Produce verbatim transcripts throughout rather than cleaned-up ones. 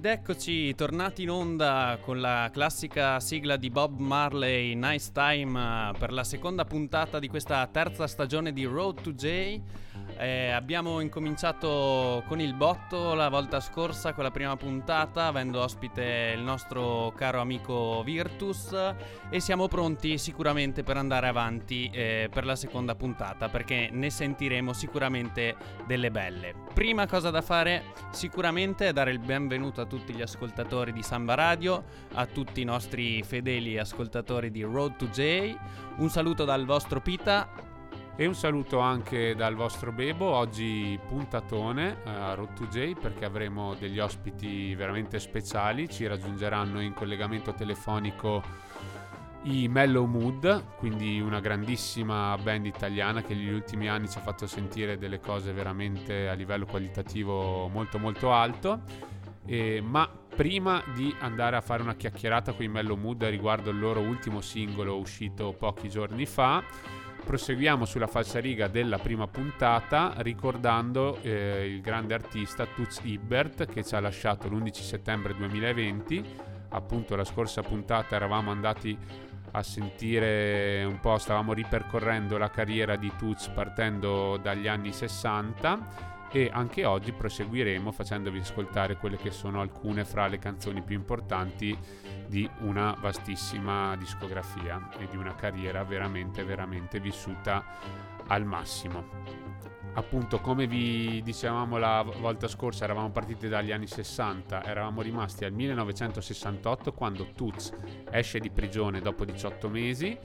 Ed eccoci tornati in onda con la classica sigla di Bob Marley, Nice Time, per la seconda puntata di questa terza stagione di Road to J. Eh, abbiamo incominciato con il botto la volta scorsa con la prima puntata, avendo ospite il nostro caro amico Virtus, e siamo pronti sicuramente per andare avanti eh, per la seconda puntata, perché ne sentiremo sicuramente delle belle. Prima cosa da fare sicuramente è dare il benvenuto a tutti gli ascoltatori di Samba Radio, a tutti i nostri fedeli ascoltatori di Road to J. Un saluto dal vostro Pita. E un saluto anche dal vostro Bebo. Oggi puntatone a Road to J, perché avremo degli ospiti veramente speciali. Ci raggiungeranno in collegamento telefonico i Mellow Mood, quindi una grandissima band italiana che negli ultimi anni ci ha fatto sentire delle cose veramente a livello qualitativo molto molto alto. Eh, ma prima di andare a fare una chiacchierata con i Mellow Mood riguardo il loro ultimo singolo uscito pochi giorni fa, proseguiamo sulla falsariga della prima puntata ricordando eh, il grande artista Toots Hibbert, che ci ha lasciato l'undici settembre duemilaventi. Appunto la scorsa puntata eravamo andati a sentire un po', stavamo ripercorrendo la carriera di Toots partendo dagli anni sessanta, e anche oggi proseguiremo facendovi ascoltare quelle che sono alcune fra le canzoni più importanti di una vastissima discografia e di una carriera veramente veramente vissuta al massimo. Appunto, come vi dicevamo la volta scorsa, eravamo partiti dagli anni sessanta, eravamo rimasti al millenovecentosessantotto, quando Toots esce di prigione dopo diciotto mesi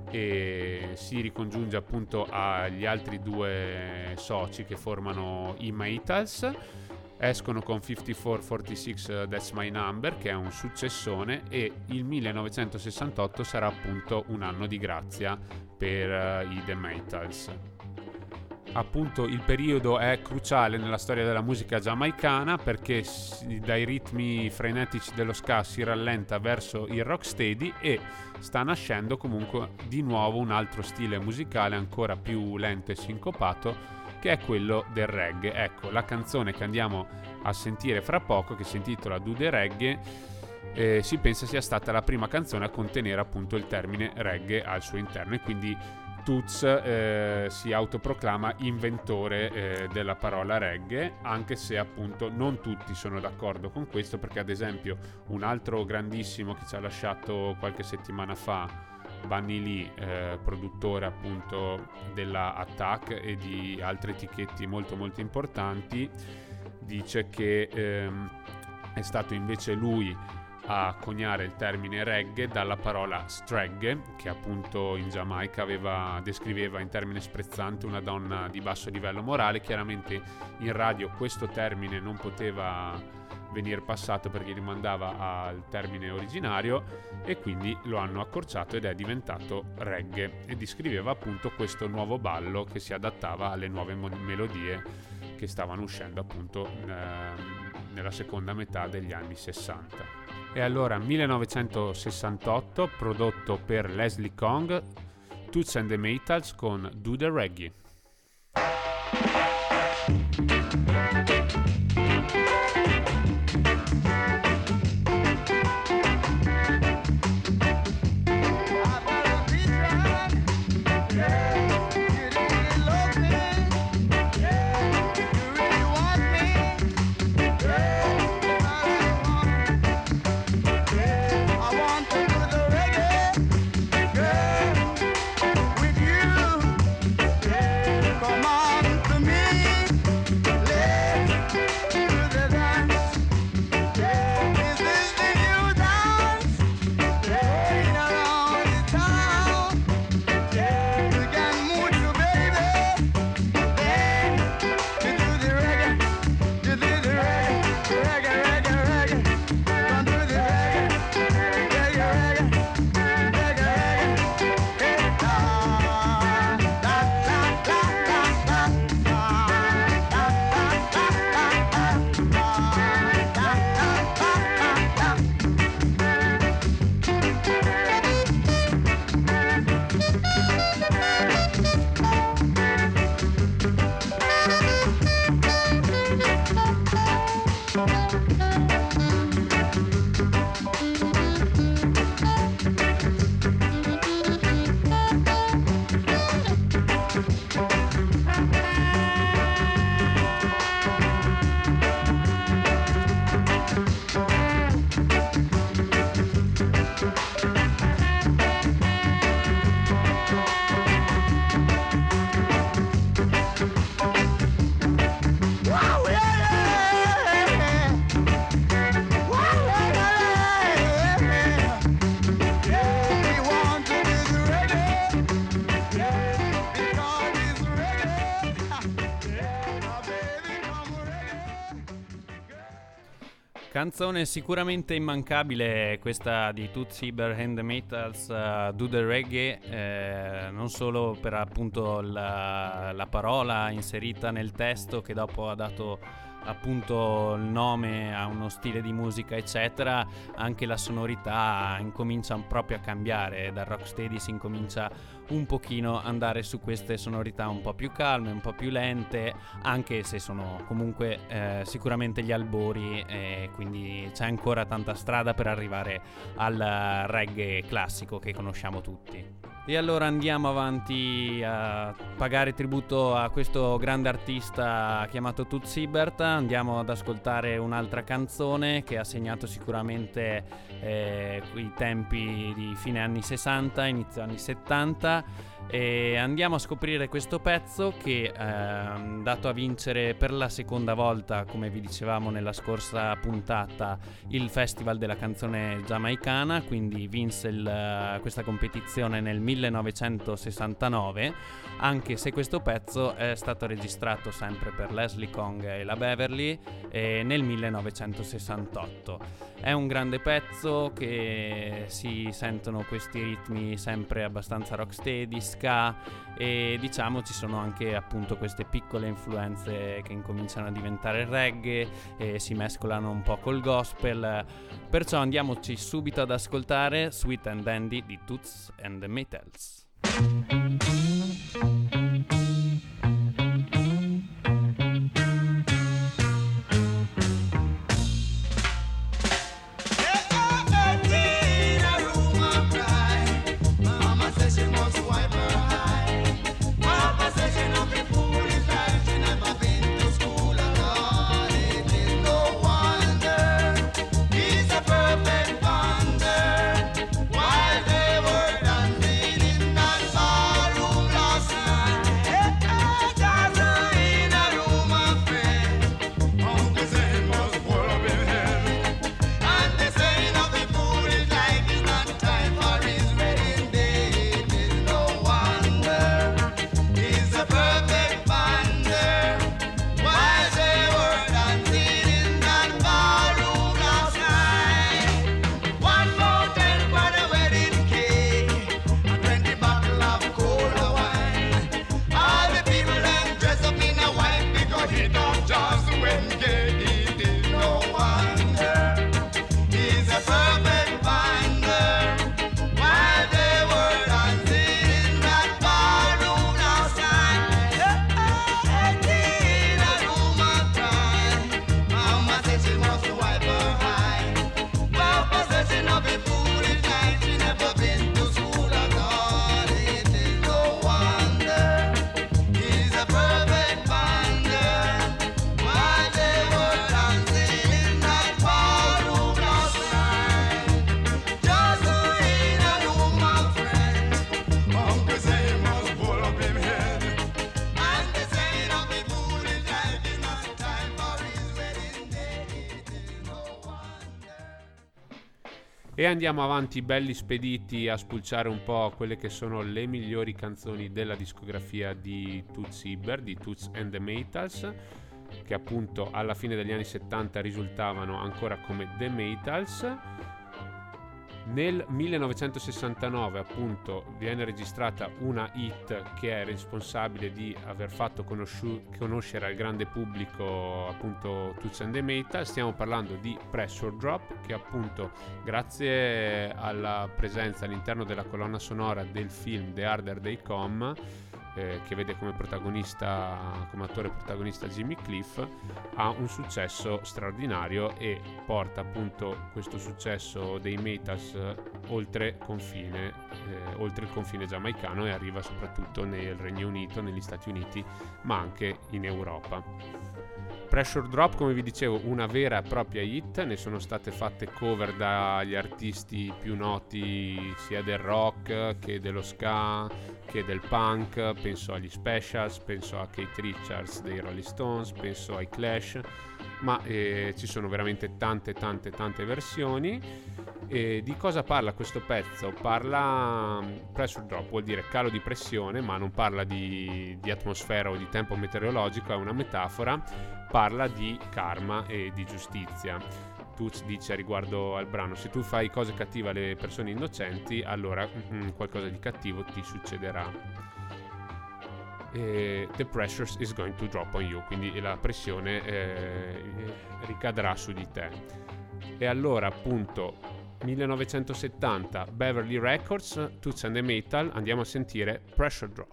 e si ricongiunge appunto agli altri due soci che formano i Maytals. Escono con cinquantaquattro quarantasei That's My Number, che è un successone, e il millenovecentosessantotto sarà appunto un anno di grazia per uh, i The Maytals. Appunto il periodo è cruciale nella storia della musica giamaicana, perché dai ritmi frenetici dello ska si rallenta verso il rocksteady e sta nascendo comunque di nuovo un altro stile musicale ancora più lento e sincopato, che è quello del reggae. Ecco, la canzone che andiamo a sentire fra poco, che si intitola Do the Reggae, eh, si pensa sia stata la prima canzone a contenere appunto il termine reggae al suo interno, e quindi Toots eh, si autoproclama inventore eh, della parola reggae, anche se appunto non tutti sono d'accordo con questo, perché ad esempio un altro grandissimo che ci ha lasciato qualche settimana fa, Bunny Lee, eh, produttore appunto della Attack e di altre etichette molto molto importanti, dice che ehm, è stato invece lui a coniare il termine reggae dalla parola stragge, che appunto in Giamaica aveva, descriveva in termine sprezzante una donna di basso livello morale. Chiaramente in radio questo termine non poteva venire passato perché rimandava al termine originario, e quindi lo hanno accorciato ed è diventato reggae, e descriveva appunto questo nuovo ballo che si adattava alle nuove mo- melodie che stavano uscendo appunto eh, nella seconda metà degli anni sessanta. E allora millenovecentosessantotto, prodotto per Leslie Kong, Toots and the Maytals con Do the Reggae. With you, come on to me. Canzone sicuramente immancabile questa di Toots Hibbert and the Maytals, uh, Do the Reggae, eh, non solo per appunto la, la parola inserita nel testo che dopo ha dato appunto il nome a uno stile di musica eccetera, anche la sonorità incomincia proprio a cambiare, dal rocksteady si incomincia un pochino andare su queste sonorità un po' più calme, un po' più lente, anche se sono comunque eh, sicuramente gli albori, e quindi c'è ancora tanta strada per arrivare al reggae classico che conosciamo tutti. E allora andiamo avanti a pagare tributo a questo grande artista chiamato Toots Hibbert. Andiamo ad ascoltare un'altra canzone che ha segnato sicuramente eh, i tempi di fine anni sessanta, inizio anni settanta, e andiamo a scoprire questo pezzo che è andato a vincere per la seconda volta, come vi dicevamo nella scorsa puntata, il Festival della canzone giamaicana, quindi vinse il, questa competizione nel millenovecentosessantanove, anche se questo pezzo è stato registrato sempre per Leslie Kong e la Beverly eh, nel millenovecentosessantotto. È un grande pezzo che si sentono questi ritmi sempre abbastanza rocksteady, ska, e diciamo ci sono anche appunto queste piccole influenze che incominciano a diventare reggae e si mescolano un po' col gospel. Perciò andiamoci subito ad ascoltare Sweet and Dandy di Toots and the Maytals. E andiamo avanti belli spediti a spulciare un po' quelle che sono le migliori canzoni della discografia di Toots Hibbert, di Toots and the Maytals, che appunto alla fine degli anni settanta risultavano ancora come The Maytals. Nel millenovecentosessantanove appunto viene registrata una hit che è responsabile di aver fatto conosciu- conoscere al grande pubblico appunto Toots and the Maytals. Stiamo parlando di Pressure Drop, che appunto grazie alla presenza all'interno della colonna sonora del film The Harder They Come, eh, che vede come protagonista, come attore protagonista Jimmy Cliff, ha un successo straordinario e porta appunto questo successo dei Maytals oltre confine, eh, oltre il confine giamaicano, e arriva soprattutto nel Regno Unito, negli Stati Uniti, ma anche in Europa. Pressure Drop, come vi dicevo, una vera e propria hit, ne sono state fatte cover dagli artisti più noti sia del rock che dello ska che del punk, penso agli Specials, penso a Keith Richards dei Rolling Stones, penso ai Clash, ma eh, ci sono veramente tante tante tante versioni. E di cosa parla questo pezzo? Parla, Pressure Drop vuol dire calo di pressione, ma non parla di, di atmosfera o di tempo meteorologico, è una metafora, parla di karma e di giustizia. Toots dice riguardo al brano: se tu fai cose cattive alle persone innocenti, allora mm, qualcosa di cattivo ti succederà. E the pressure is going to drop on you, quindi la pressione eh, ricadrà su di te. E allora appunto millenovecentosettanta, Beverly Records, Toots and the Metal, andiamo a sentire Pressure Drop.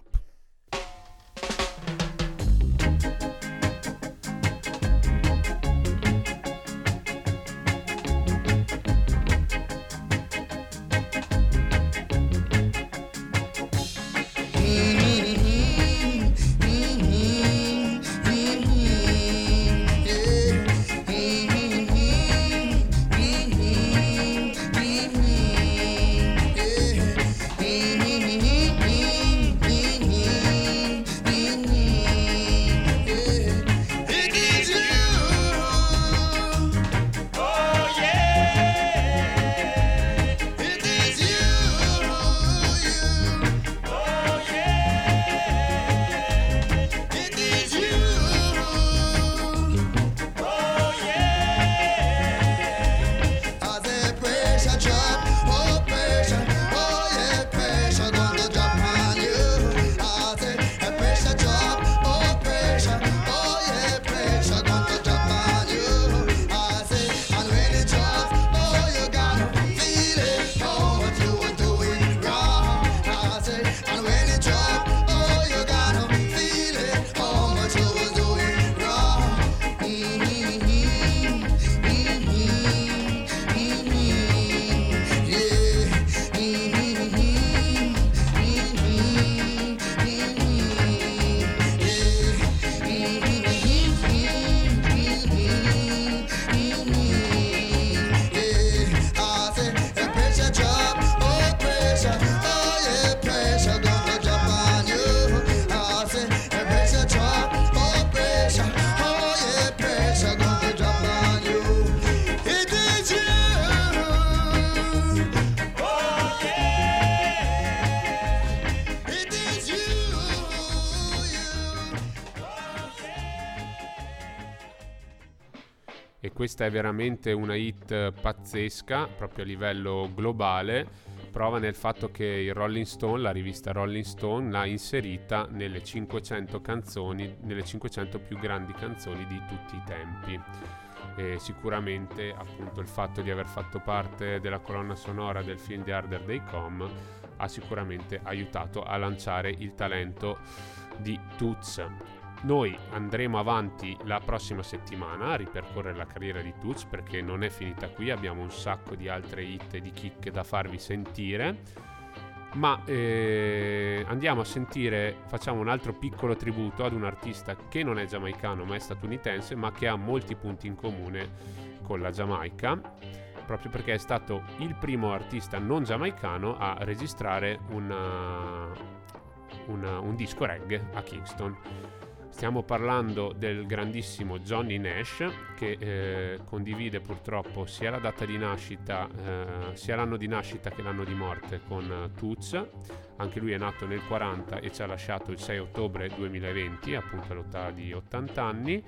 E questa è veramente una hit pazzesca proprio a livello globale, prova nel fatto che il Rolling Stone, la rivista Rolling Stone, l'ha inserita nelle cinquecento canzoni, nelle cinquecento più grandi canzoni di tutti i tempi. E sicuramente appunto il fatto di aver fatto parte della colonna sonora del film The Harder They Come ha sicuramente aiutato a lanciare il talento di Toots. Noi andremo avanti la prossima settimana a ripercorrere la carriera di Toots, perché non è finita qui, abbiamo un sacco di altre hit e di chicche da farvi sentire, ma eh, andiamo a sentire, facciamo un altro piccolo tributo ad un artista che non è giamaicano ma è statunitense, ma che ha molti punti in comune con la Giamaica, proprio perché è stato il primo artista non giamaicano a registrare una, una, un disco reggae a Kingston. Stiamo parlando del grandissimo Johnny Nash, che eh, condivide purtroppo sia la data di nascita, eh, sia l'anno di nascita che l'anno di morte con uh, Toots. Anche lui è nato nel quaranta e ci ha lasciato il sei ottobre duemilaventi, appunto all'età di ottanta anni.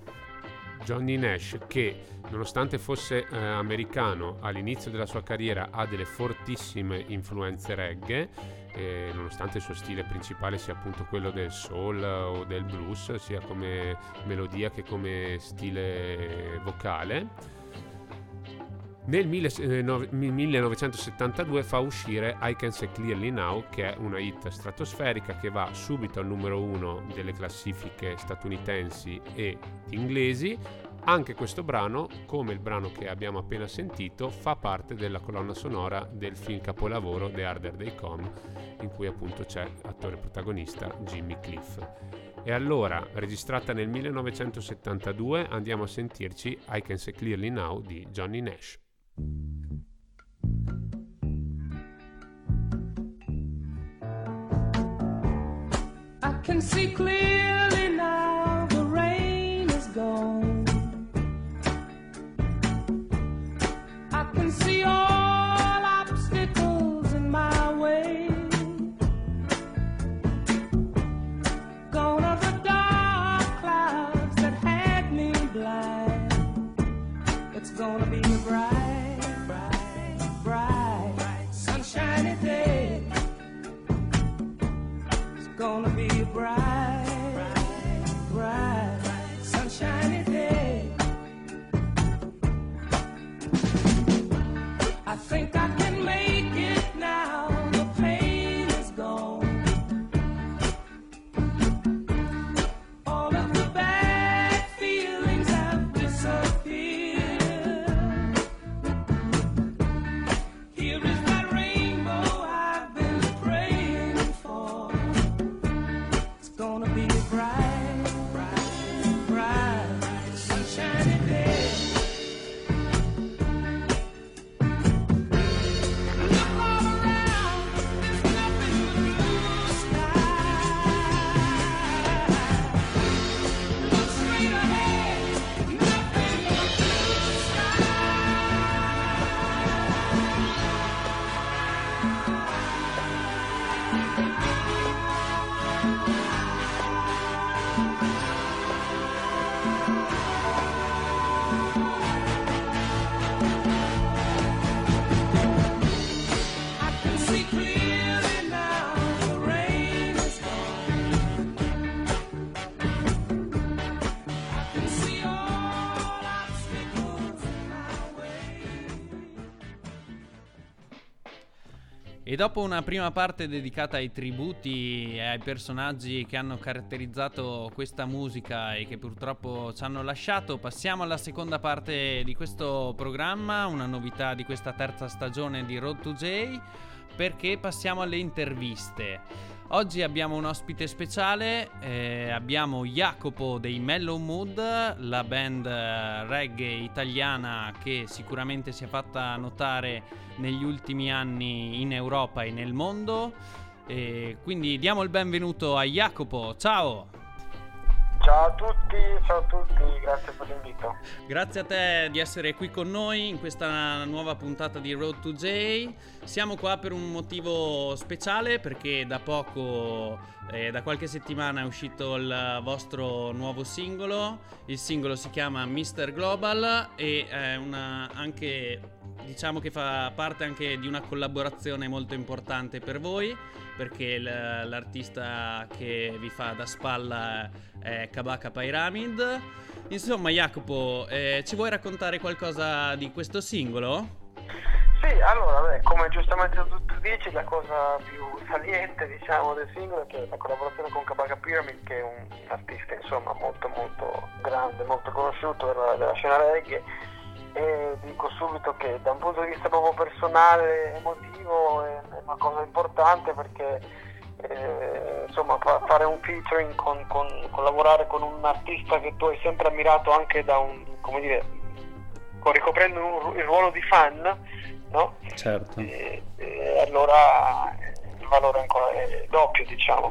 Johnny Nash, che nonostante fosse eh, americano, all'inizio della sua carriera ha delle fortissime influenze reggae, eh, nonostante il suo stile principale sia appunto quello del soul o del blues, sia come melodia che come stile vocale. Nel millenovecentosettantadue fa uscire I Can See Clearly Now, che è una hit stratosferica che va subito al numero uno delle classifiche statunitensi e inglesi. Anche questo brano, come il brano che abbiamo appena sentito, fa parte della colonna sonora del film capolavoro The Harder They Come, in cui appunto c'è attore protagonista Jimmy Cliff. E allora, registrata nel millenovecentosettantadue, andiamo a sentirci I Can See Clearly Now di Johnny Nash. I can see clearly now, the rain is gone. I can see all obstacles in my way. Gone are the dark clouds that had me blind. It's gonna be see clearly now, the rain is gone. I can see all obstacles in my way. E dopo una prima parte dedicata ai tributi e ai personaggi che hanno caratterizzato questa musica e che purtroppo ci hanno lasciato, passiamo alla seconda parte di questo programma, una novità di questa terza stagione di Road to J, perché passiamo alle interviste. Oggi abbiamo un ospite speciale, eh, abbiamo Jacopo dei Mellow Mood, la band eh, reggae italiana che sicuramente si è fatta notare negli ultimi anni in Europa e nel mondo. E quindi diamo il benvenuto a Jacopo, ciao! Ciao a tutti, ciao a tutti, grazie per l'invito. Grazie a te di essere qui con noi in questa nuova puntata di Road to J. Siamo qua per un motivo speciale, perché da poco, eh, da qualche settimana è uscito il vostro nuovo singolo. Il singolo si chiama mister Global e è una anche, diciamo che fa parte anche di una collaborazione molto importante per voi, perché l- l'artista che vi fa da spalla è Kabaka Pyramid. Insomma, Jacopo, eh, ci vuoi raccontare qualcosa di questo singolo? Sì, allora, beh, come giustamente tu dici, la cosa più saliente, diciamo, del singolo è che la collaborazione con Kabaka Pyramid, che è un artista, insomma, molto molto grande, molto conosciuto della, della scena reggae. E dico subito che da un punto di vista proprio personale, emotivo, è una cosa importante, perché eh, insomma fa, fare un featuring con, con collaborare con un artista che tu hai sempre ammirato anche da un, come dire, con, ricoprendo un, il ruolo di fan, no? Certo. E, e allora il valore ancora è doppio, diciamo.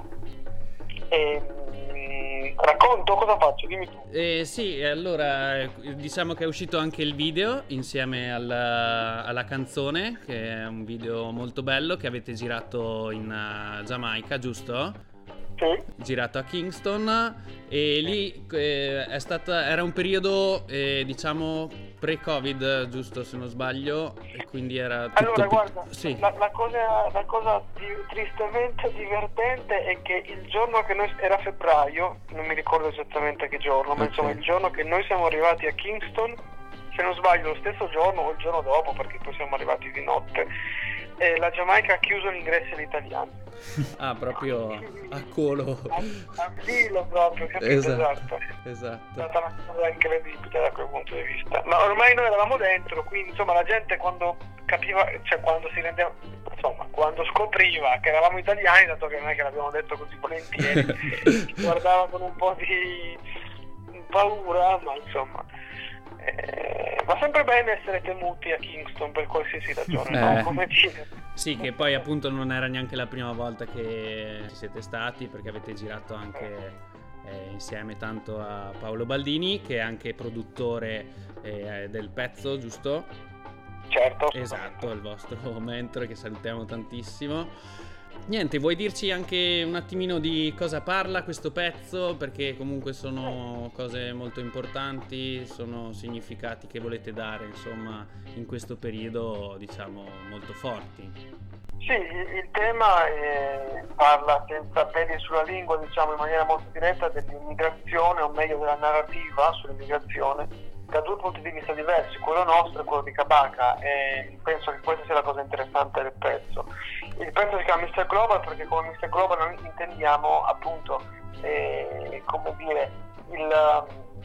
E, racconto, cosa faccio? Dimmi tu. Eh, sì, allora eh, diciamo che è uscito anche il video insieme alla, alla canzone, che è un video molto bello che avete girato in uh, Giamaica, giusto? Sì. Girato a Kingston, e lì eh, è stata, era un periodo eh, diciamo pre-Covid, giusto, se non sbaglio, e quindi era tutto Allora, più- guarda, sì. la, la cosa, la cosa di- tristemente divertente è che il giorno che noi, era febbraio, non mi ricordo esattamente che giorno, ma Ok. insomma il giorno che noi siamo arrivati a Kingston, se non sbaglio lo stesso giorno o il giorno dopo, perché poi siamo arrivati di notte, eh, la Giamaica ha chiuso gli ingressi agli italiani. Ah, proprio a colo. A, a filo proprio, capito? Esatto, È esatto. stata una cosa incredibile da quel punto di vista, ma ormai noi eravamo dentro, quindi insomma la gente quando capiva, cioè quando si rendeva, insomma quando scopriva che eravamo italiani, dato che non è che l'abbiamo detto così volentieri, ci guardava con un po' di paura, ma insomma eh, va sempre bene essere temuti a Kingston per qualsiasi ragione, Eh. no? Come dire. Sì, che poi appunto non era neanche la prima volta che ci siete stati, perché avete girato anche eh, insieme tanto a Paolo Baldini, che è anche produttore eh, del pezzo, giusto? Certo. Esatto, il vostro mentore, che salutiamo tantissimo. Niente, vuoi dirci anche un attimino di cosa parla questo pezzo? Perché comunque sono cose molto importanti, sono significati che volete dare, insomma, in questo periodo, diciamo, molto forti. Sì, il, il tema eh, parla senza peli sulla lingua, diciamo in maniera molto diretta, dell'immigrazione, o meglio della narrativa sull'immigrazione, da due punti di vista diversi, quello nostro e quello di Kabaka, e penso che questa sia la cosa interessante del pezzo. Il pezzo si chiama mister Global perché come mister Global noi intendiamo appunto eh, come dire il,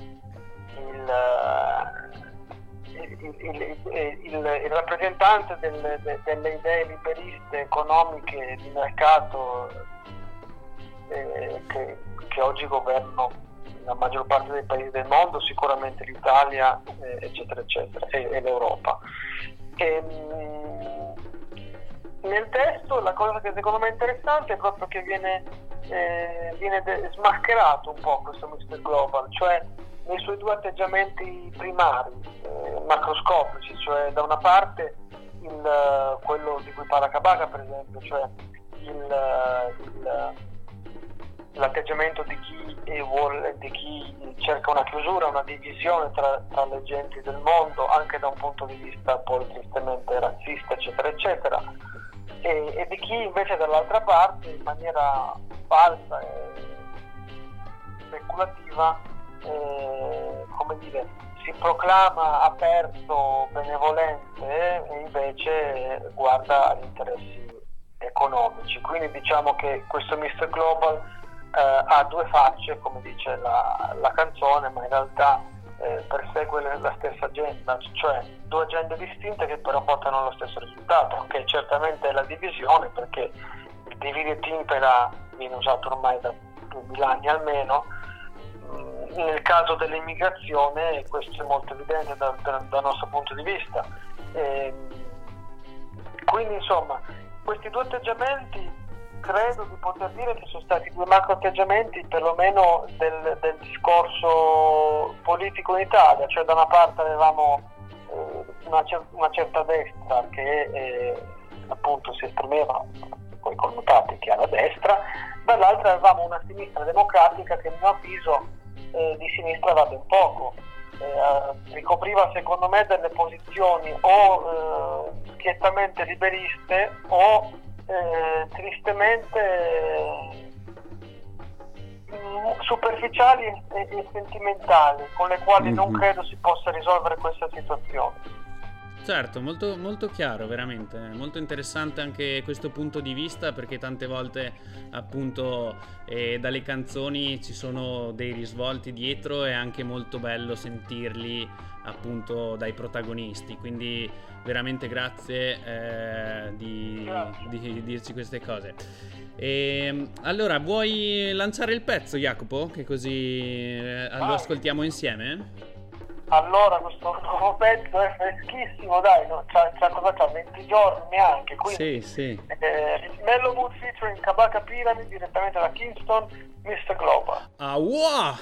il, il, il, il, il rappresentante del, de, delle idee liberiste economiche di mercato eh, che, che oggi governano la maggior parte dei paesi del mondo, sicuramente l'Italia, eh, eccetera, eccetera, e, e l'Europa. E, mh, nel testo la cosa che secondo me è interessante è proprio che viene, eh, viene de- smascherato un po' questo mister Global, cioè nei suoi due atteggiamenti primari, eh, macroscopici, cioè da una parte il, quello di cui parla Kabaka, per esempio, cioè il, il l'atteggiamento di chi vuole, di chi cerca una chiusura, una divisione tra, tra le genti del mondo, anche da un punto di vista poi tristemente razzista, eccetera, eccetera. e, e di chi invece dall'altra parte in maniera falsa e speculativa eh, come dire, si proclama aperto, benevolente e invece guarda agli interessi economici. Quindi diciamo che questo mister Global eh, ha due facce, come dice la, la canzone, ma in realtà eh, persegue la stessa agenda, cioè due agende distinte che però portano allo stesso risultato, che certamente è la divisione, perché il divide et impera viene usato ormai da mille anni almeno. Nel caso dell'immigrazione questo è molto evidente dal, dal, dal nostro punto di vista. E quindi insomma questi due atteggiamenti credo di poter dire che sono stati due macro atteggiamenti perlomeno del, del discorso politico in Italia, cioè da una parte avevamo eh, una, cer- una certa destra che eh, appunto si esprimeva con i connotati che alla destra, dall'altra avevamo una sinistra democratica che a mio avviso Eh, di sinistra va ben poco, eh, ricopriva secondo me delle posizioni o eh, schiettamente liberiste o eh, tristemente eh, superficiali e, e sentimentali, con le quali mm-hmm. non credo si possa risolvere questa situazione. Certo, molto, molto chiaro, veramente, molto interessante anche questo punto di vista, perché tante volte appunto eh, dalle canzoni ci sono dei risvolti dietro, è anche molto bello sentirli appunto dai protagonisti, quindi veramente grazie eh, di, di, di dirci queste cose. E, allora, vuoi lanciare il pezzo, Jacopo? Che così eh, lo ascoltiamo insieme? Allora, questo nuovo pezzo è freschissimo, dai, no? c'ha, c'ha, cosa c'ha? venti giorni neanche, quindi sì, sì. Eh, Mellow Mood featuring Kabaka Pyramid direttamente da Kingston, mister Global. Ah, wow!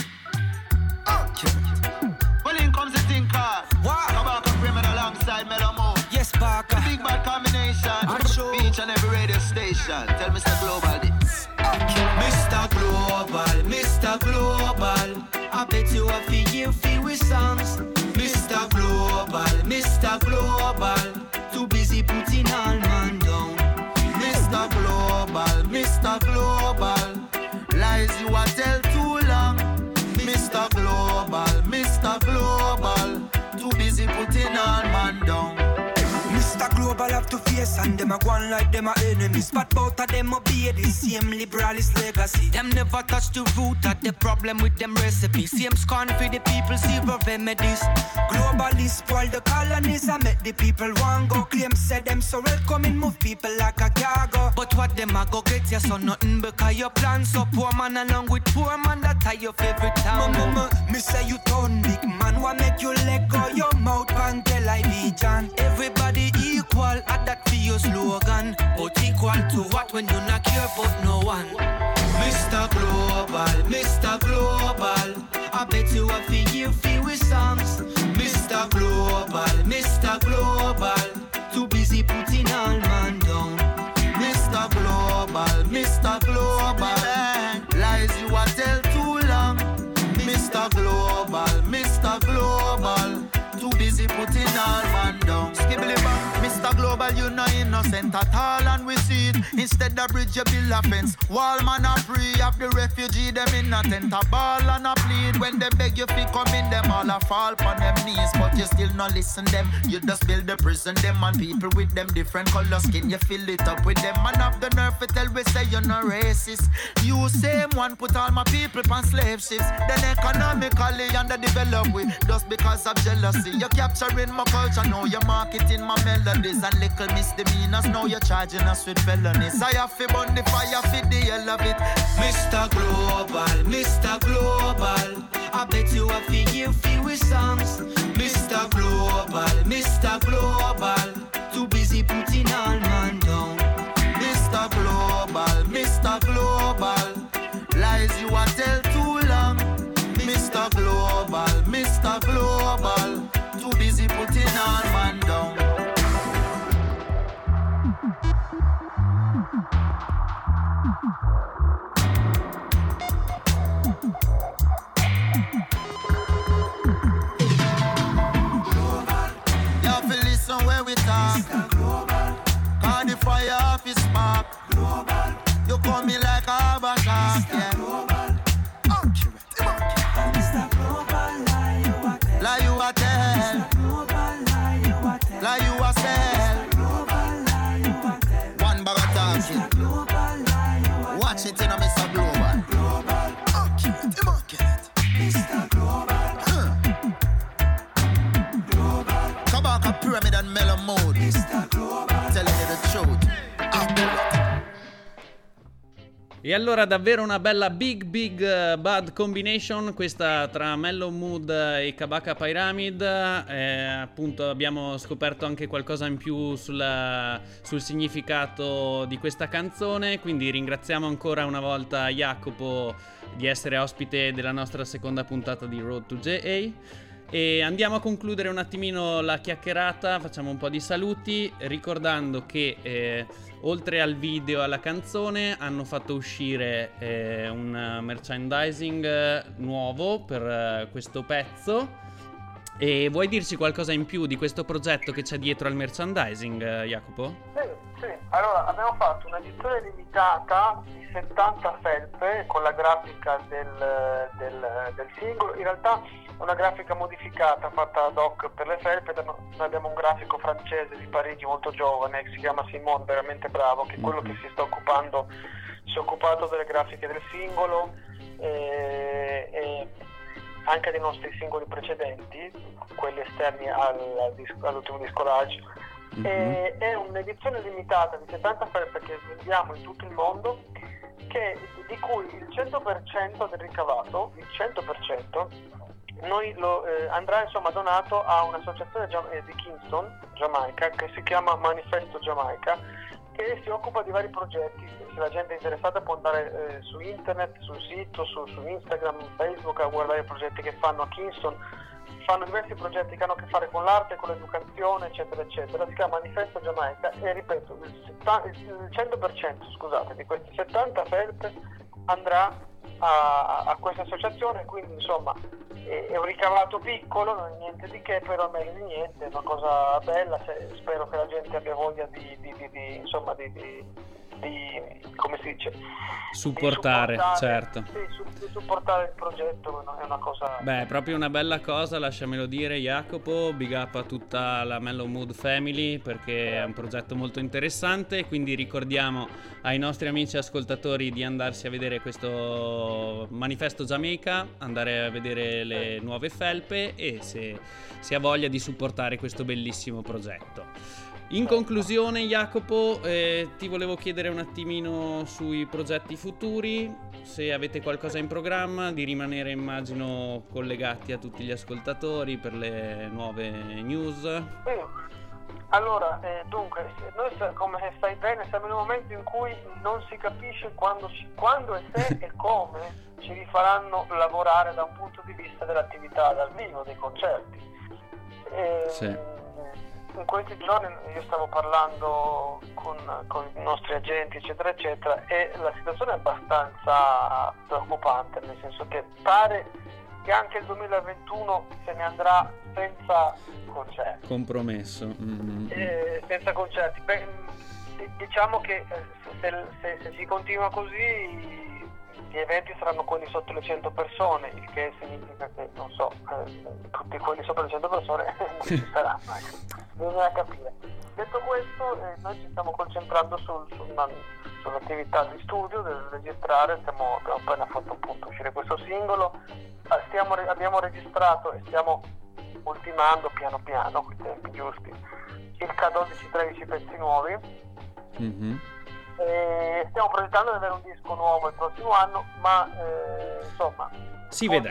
Well, in comes the thinker. Wow. Kabaka Pyramid alongside Mellow Mood. Yes, Baka. The big bad combination. Each and every radio station. Tell mister Global this. mister Global, mister Global. I bet you a feel you feel with songs. mister Global, mister Global. Too busy putting all man down. mister Global, mister Global. Lies you a tell too long. mister Global, mister Global. Too busy putting all man down. mister Global have to face and them a go on like them a enemies. But both of them obey the same liberalist legacy. Them never touch the root of the problem with them recipes. Same scorn for the people, zero remedies. Globalists spoil the colonies and make the people want go. Claim say them so welcoming, move people like a cargo. But what them a go get you so nothing because your plan so poor man along with poor man that tie your favorite town. Mama, me say you turn big man, what make you let go your mouth and tell I vision. Everybody equal at that for your slogan, but equal to what when you not care about no one. mister Global, mister Global. I bet you a feel you feel with songs. mister Global, mister Global. Too busy putting all man down. mister Global, mister Global. Lies you a tell too long. mister Global, mister Global. Too busy putting all man down. Skibbly bang, mister Global, you no innocent at all, and we see it. Instead of bridge, you build a fence. Wall man a free of the refugee, them in a tent a ball and a plead. When they beg you fi come in, them all a fall on them knees, but you still no listen them. You just build the prison, them and people with them different color skin. You fill it up with them, and have the nerve to tell we say you're no racist. You same one put all my people on slave ships. Then economically underdeveloped we just because of jealousy. You're capturing my culture, now you're marketing my melodies. And little misdemeanors, now you're charging us with felonies. I have to burn the fire for the hell of it. mister Global, mister Global. I bet you a feel you feel with songs. mister Global, mister Global. Too busy putting all man down. mister Global, mister Global. Lies you a tell too long. mister Global, mister Global. Too busy putting all man down. fire off his spark. Global. You call me like a basha. Yeah. Global. Accurate. Accurate. Mister Global, lie you a tell. Lie you a tell. Mister Global, lie you a tell. Lie you a sell. Mister Global, lie you a tell. One bag of talking. Mister Global, lie you a tell. Watch it in a Mister Global. Global. Accurate. Accurate. Mister Global. Huh. Global. Kabaka Pyramid and Mellow Mode. Mister Global. Telling you the truth. Accurate. E allora davvero una bella big big uh, bad combination questa tra Mellow Mood e Kabaka Pyramid. Eh, appunto abbiamo scoperto anche qualcosa in più sulla, sul significato di questa canzone, quindi ringraziamo ancora una volta Jacopo di essere ospite della nostra seconda puntata di Road to J A. E andiamo a concludere un attimino la chiacchierata, facciamo un po' di saluti, ricordando che eh, oltre al video e alla canzone hanno fatto uscire eh, un merchandising nuovo per eh, questo pezzo. E vuoi dirci qualcosa in più di questo progetto che c'è dietro al merchandising, eh, Jacopo? Sì, sì, allora abbiamo fatto un'edizione limitata di settanta felpe con la grafica del, del, del singolo. In realtà è una grafica modificata fatta ad hoc per le felpe. Noi abbiamo un grafico francese di Parigi molto giovane che si chiama Simone, veramente bravo, che è quello che si sta occupando, si è occupato delle grafiche del singolo e, e anche dei nostri singoli precedenti, quelli esterni al, al disco, all'ultimo disco Rage. Mm-hmm. E, è un'edizione limitata di settanta felpe che vendiamo in tutto il mondo, che, di cui il cento per cento del ricavato, il cento per cento, noi lo, eh, andrà insomma donato a un'associazione gia- eh, di Kingston, Giamaica, che si chiama Manifesto Giamaica, che si occupa di vari progetti. Se la gente è interessata può andare eh, su internet, sul sito, su, su Instagram, Facebook a guardare i progetti che fanno a Kingston. Fanno diversi progetti che hanno a che fare con l'arte, con l'educazione, eccetera, eccetera. Si chiama Manifesto Giamaica e ripeto, il, setta- il cento per cento scusate, di questi settanta felpe andrà a, a questa associazione, quindi insomma è, è un ricavato piccolo, non è niente di che, però meglio di niente, è una cosa bella. Se, spero che la gente abbia voglia di, di, di, di insomma di, di, di come si dice supportare, di supportare, certo sì, su, di supportare il progetto, è una cosa, beh, è proprio una bella cosa, lasciamelo dire Jacopo. Big up a tutta la Mellow Mood Family, perché è un progetto molto interessante, quindi ricordiamo ai nostri amici ascoltatori di andarsi a vedere questo Manifesto Giamaica, andare a vedere le nuove felpe e se si ha voglia di supportare questo bellissimo progetto. In conclusione, Jacopo, eh, ti volevo chiedere un attimino sui progetti futuri, se avete qualcosa in programma, di rimanere immagino collegati a tutti gli ascoltatori per le nuove news. Sì. Allora, eh, dunque, noi come stai bene siamo in un momento in cui non si capisce quando, ci, quando e se e come ci rifaranno lavorare da un punto di vista dell'attività dal vivo, dei concerti. E, sì. In questi giorni io stavo parlando con, con i nostri agenti eccetera eccetera e la situazione è abbastanza preoccupante, nel senso che pare che anche il duemilaventuno se ne andrà senza concerti. Compromesso. Mm-hmm. Eh, senza concerti. Beh, diciamo che se, se, se si continua così gli eventi saranno quelli sotto le cento persone, il che significa che, non so, eh, tutti quelli sopra le cento persone non ci saranno, ecco. Bisogna capire. Detto questo, eh, noi ci stiamo concentrando sul, su una, sull'attività di studio, del registrare. Stiamo, abbiamo appena fatto appunto uscire questo singolo, eh, stiamo, abbiamo registrato e stiamo ultimando piano piano, con i tempi giusti, il K dodici tredici pezzi nuovi. Mm-hmm. E stiamo progettando di avere un disco nuovo il prossimo anno, ma eh, insomma si vedrà.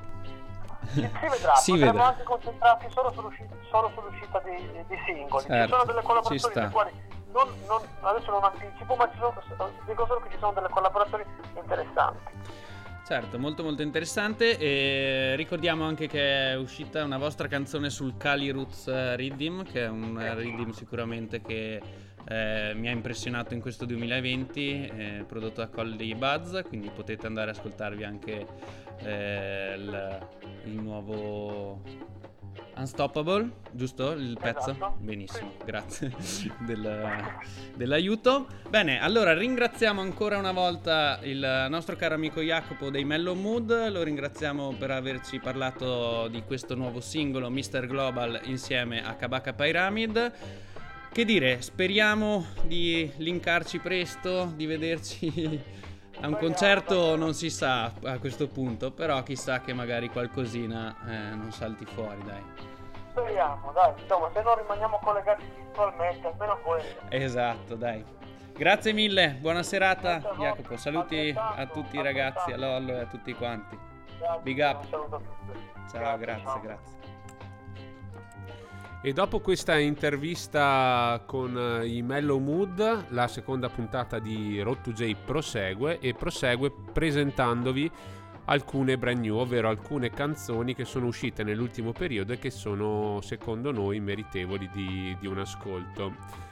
Si, si vedrà. si Potremmo vedrà. anche concentrarci solo sull'uscita, solo sull'uscita di, di singoli. Certo, ci sono delle collaborazioni ci sta. le quali non, non, adesso non anticipo, ma ci sono, dico solo che ci sono delle collaborazioni interessanti. Certo, molto molto interessante. E ricordiamo anche che è uscita una vostra canzone sul Kali Roots Riddim, che è un riddim sicuramente che eh, mi ha impressionato in questo duemilaventi, eh, prodotto da Colly Buzz, quindi potete andare ad ascoltarvi anche eh, il, il nuovo Unstoppable, giusto il pezzo? Esatto. Benissimo, grazie del, dell'aiuto. Bene, allora ringraziamo ancora una volta il nostro caro amico Jacopo dei Mellow Mood, lo ringraziamo per averci parlato di questo nuovo singolo mister Global insieme a Kabaka Pyramid. Che dire, speriamo di linkarci presto, di vederci a un concerto, non si sa a questo punto, però chissà che magari qualcosina eh, non salti fuori, dai. Speriamo, dai, insomma, se non rimaniamo collegati virtualmente, almeno quello. Esatto, dai. Grazie mille, buona serata Grazie a voi. Jacopo, saluti Altrettanto, a tutti i ragazzi, a altrettanto. Lollo e a tutti quanti. Grazie, Big up. un saluto a tutti. Ciao, grazie, ciao. grazie. E dopo questa intervista con i Mellow Mood, la seconda puntata di Road to J prosegue e prosegue presentandovi alcune brand new, ovvero alcune canzoni che sono uscite nell'ultimo periodo e che sono secondo noi meritevoli di, di un ascolto.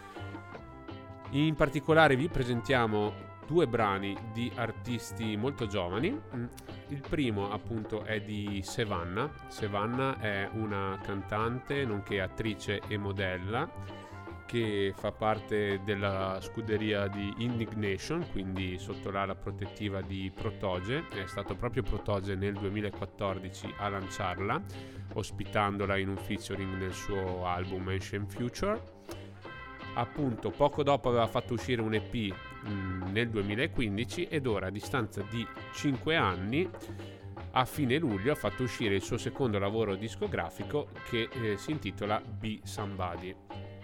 In particolare vi presentiamo due brani di artisti molto giovani. Il primo appunto è di Sevanna. Sevanna è una cantante nonché attrice e modella che fa parte della scuderia di Indignation, quindi sotto l'ala protettiva di Protoje. È stato proprio Protoje nel duemilaquattordici a lanciarla, ospitandola in un featuring nel suo album Ancient Future. Appunto poco dopo aveva fatto uscire un E P mh, nel duemilaquindici ed ora a distanza di cinque anni a fine luglio ha fatto uscire il suo secondo lavoro discografico che eh, si intitola Be Somebody.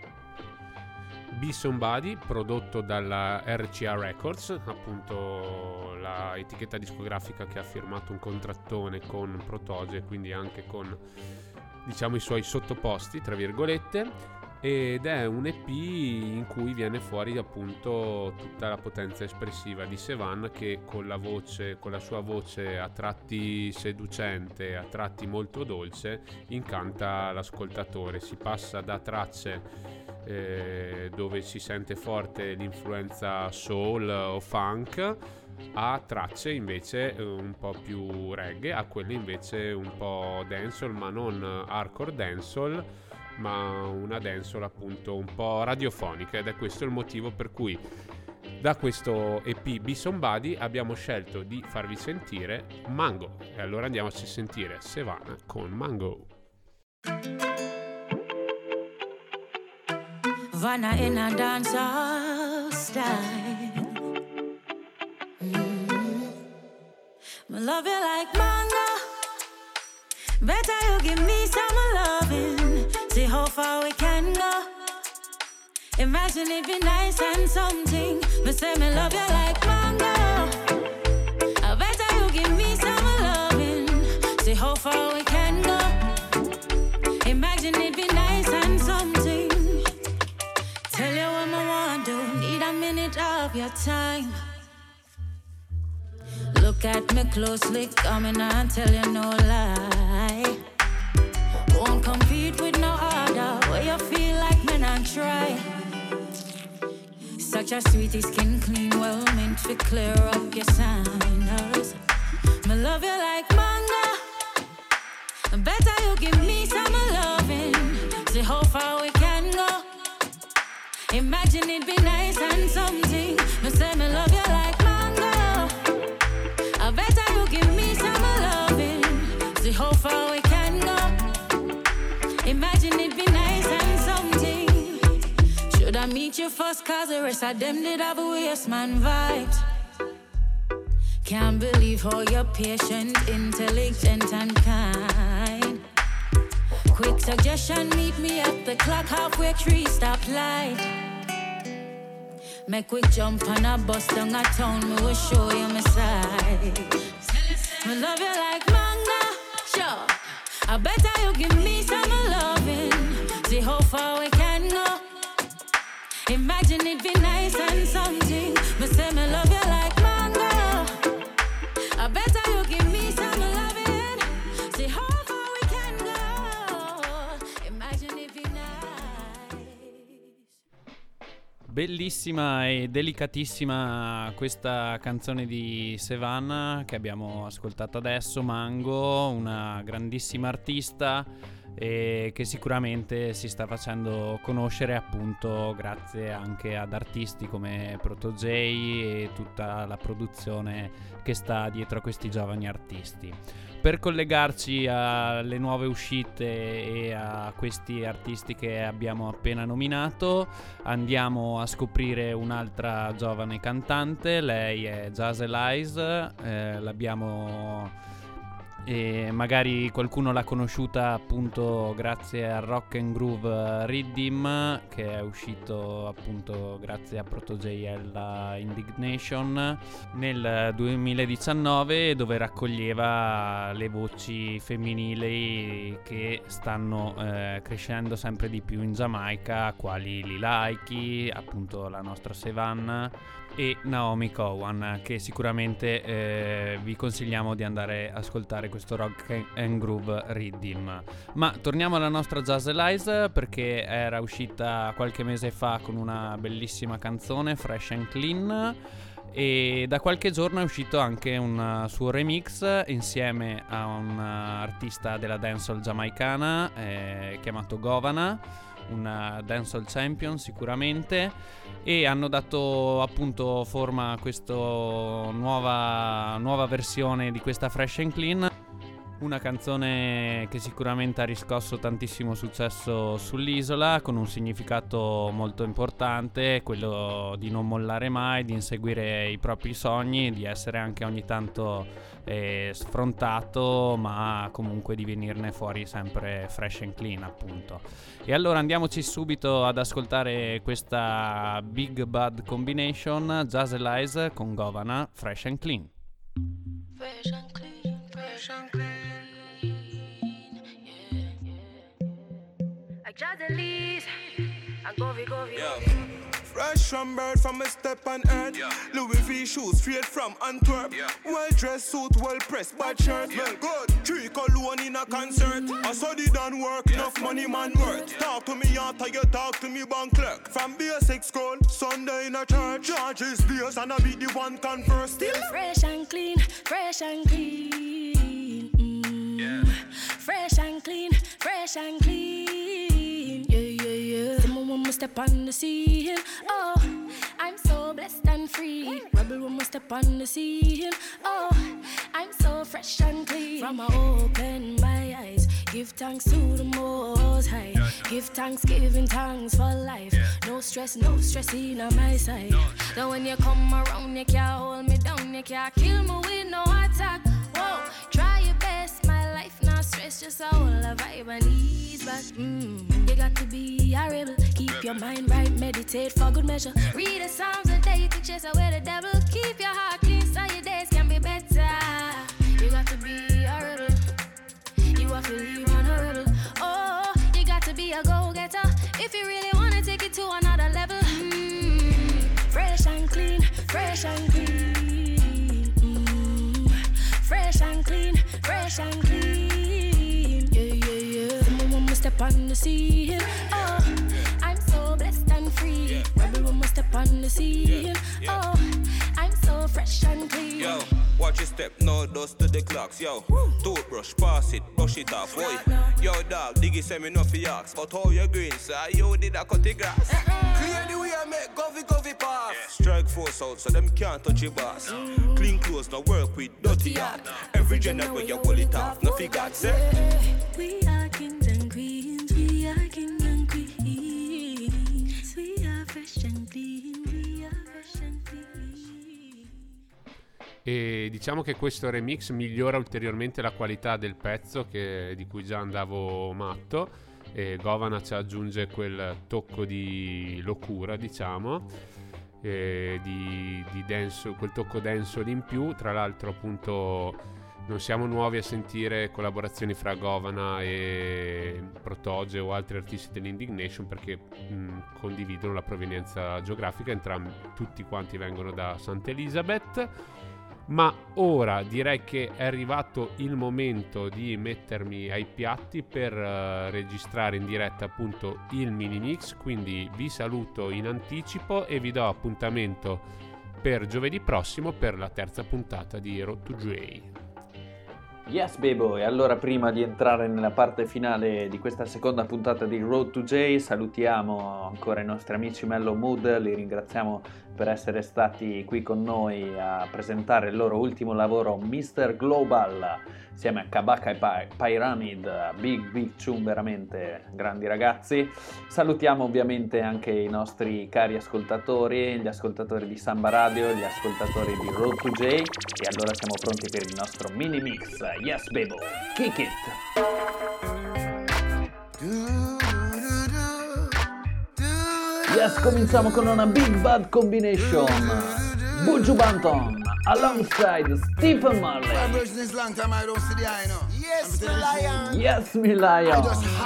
Be Somebody, prodotto dalla R C A Records, appunto la etichetta discografica che ha firmato un contrattone con Protoje, quindi anche con diciamo i suoi sottoposti tra virgolette, ed è un E P in cui viene fuori appunto tutta la potenza espressiva di Sevan, che con la voce, con la sua voce a tratti seducente, a tratti molto dolce, incanta l'ascoltatore. Si passa da tracce eh, dove si sente forte l'influenza soul o funk a tracce invece un po' più reggae, a quelle invece un po' dancehall, ma non hardcore dancehall, ma una dancehall appunto un po' radiofonica, ed è questo il motivo per cui da questo E P Be Somebody abbiamo scelto di farvi sentire Mango. E allora andiamoci a sentire Sevanna con Mango. Vanna in a dancehall style. Mm. I love you like mango. Better you give me some loving. See how far we can go. Imagine it be nice and something. Me say me love you like mango. I better you give me some loving. See how far we can go. Imagine it be nice and something. Tell you what I want to. Need a minute of your time. Look at me closely, coming and tell you no lie. Won't compete with no other. Where you feel like men and try. Such a sweetie, skin clean, well meant to clear up your signals. Me love you like mango. Better you give me some loving. See how far we can go. Imagine it be nice and something. Me say me love you like mango. I better you give me some loving. See how far we can go. Imagine it be nice and something. Should I meet you first, cause the rest of them did have a waste man vibes. Can't believe how you're patient, intelligent and kind. Quick suggestion, meet me at the clock halfway tree stop light. Make quick jump on a bus down a town, me will show you my side. Me love you like mango, sure. I better you give me some loving. See how far we can go. Imagine it be nice and something. Me say me love you like mango. I better you give me some loving. See how far we can go. Imagine it be nice. Bellissima e delicatissima questa canzone di Sevanna che abbiamo ascoltato adesso, Mango, una grandissima artista e che sicuramente si sta facendo conoscere appunto grazie anche ad artisti come Proto J e tutta la produzione che sta dietro a questi giovani artisti. Per collegarci alle nuove uscite e a questi artisti che abbiamo appena nominato, andiamo a scoprire un'altra giovane cantante. Lei è Jazz Elise, eh, l'abbiamo e magari qualcuno l'ha conosciuta appunto grazie al Rock and Groove Rhythm, che è uscito appunto grazie a Proto J e alla Indignation nel duemiladiciannove, dove raccoglieva le voci femminili che stanno eh, crescendo sempre di più in Giamaica, quali Lila Ike, appunto la nostra Savannah, e Naomi Cowan, che sicuramente eh, vi consigliamo di andare a ascoltare questo Rock and Groove Rhythm. Ma torniamo alla nostra Jazz Elise, perché era uscita qualche mese fa con una bellissima canzone, Fresh and Clean, e da qualche giorno è uscito anche un suo remix insieme a un artista della dancehall giamaicana eh, chiamato Govana, una dancehall champion sicuramente, e hanno dato appunto forma a questa nuova, nuova versione di questa Fresh and Clean, una canzone che sicuramente ha riscosso tantissimo successo sull'isola, con un significato molto importante, quello di non mollare mai, di inseguire i propri sogni, di essere anche ogni tanto eh, sfrontato, ma comunque di venirne fuori sempre fresh and clean appunto. E allora andiamoci subito ad ascoltare questa Big Bad Combination, Jazz Elise con Govana, Fresh and Clean. Fresh and clean, fresh and clean. Jazz Elise, and Govy Govy. Yeah. Fresh from bird from a step on earth. Yeah. Louis V shoes straight from Antwerp. Yeah. Well dressed suit, well pressed, bad shirt. Yeah. Well good, three cologne in a concert. Mm. I saw the done work, yes. Enough money man worth. Talk to me after you talk to me bank clerk. From basic school, Sunday in a church. Charges days and I be the one converse still. Fresh and clean, fresh and clean. Mm. Yeah. Fresh and clean, fresh and clean. Yeah, yeah, yeah. Someone when we step on the scene. Oh, I'm so blessed and free. Rebel when we step on the scene. Oh, I'm so fresh and clean. From I open my eyes, give thanks to the Most High. Give thanks, giving thanks for life. No stress, no stress in on my side. So when you come around, you can't hold me down. You can't kill me with no attack. Whoa, try your best, my life not stress. Just a whole vibe and ease back. Mm. You got to be a rebel. Keep your mind right, meditate for good measure. Read the Psalms a day to chase away the devil. Keep your heart clean so your days can be better. You got to be a rebel. You have to leave on a rebel. Oh, you got to be a go-getter if you really want to take it to another level. Mm. Fresh and clean, fresh and clean. Mm. Fresh and clean, fresh and clean. Yeah, yeah, yeah. Someone when we step on the scene. Oh, I'm so blessed and free. Rebel when we step on the scene. Oh, I'm so fresh and clean. Yo, watch your step, no dust to the clocks. Yo, woo. Toothbrush, pass it, brush it off. Boy, yo dog, diggy say me no fi ask. But how you green, sir? You did a cut the grass. Uh-uh. Clear the way I make govy govy pass. Yeah. Strike force out so them can't touch your boss. Mm. Clean clothes, no work with dirty heart. Every gender where you pull it off, no fi God say. We are kings and queens, we are kings and queens. We are fresh and clean, we are fresh and clean. E diciamo che questo remix migliora ulteriormente la qualità del pezzo, che, di cui già andavo matto, e Govana ci aggiunge quel tocco di locura, diciamo, e di, di dance, quel tocco dancehall in più. Tra l'altro appunto non siamo nuovi a sentire collaborazioni fra Govana e Protoge o altri artisti dell'Indignation, perché mh, condividono la provenienza geografica, entrambi, tutti quanti vengono da Sant'Elizabeth. Ma ora direi che è arrivato il momento di mettermi ai piatti per uh, registrare in diretta appunto il mini mix, quindi vi saluto in anticipo e vi do appuntamento per giovedì prossimo per la terza puntata di Road to J. Yes, Bebo, e allora prima di entrare nella parte finale di questa seconda puntata di Road to J, salutiamo ancora i nostri amici Mellow Mood, li ringraziamo per essere stati qui con noi a presentare il loro ultimo lavoro, mister Global, insieme a Kabaka e Py- Pyramid, big big tune, veramente grandi ragazzi. Salutiamo ovviamente anche i nostri cari ascoltatori, gli ascoltatori di Samba Radio, gli ascoltatori di Road to J, e allora siamo pronti per il nostro mini mix. Yes, Bebo, kick it! Yes, cominciamo con una Big Bad Combination. Buju Banton alongside Stephen Marley. Yes, me lion.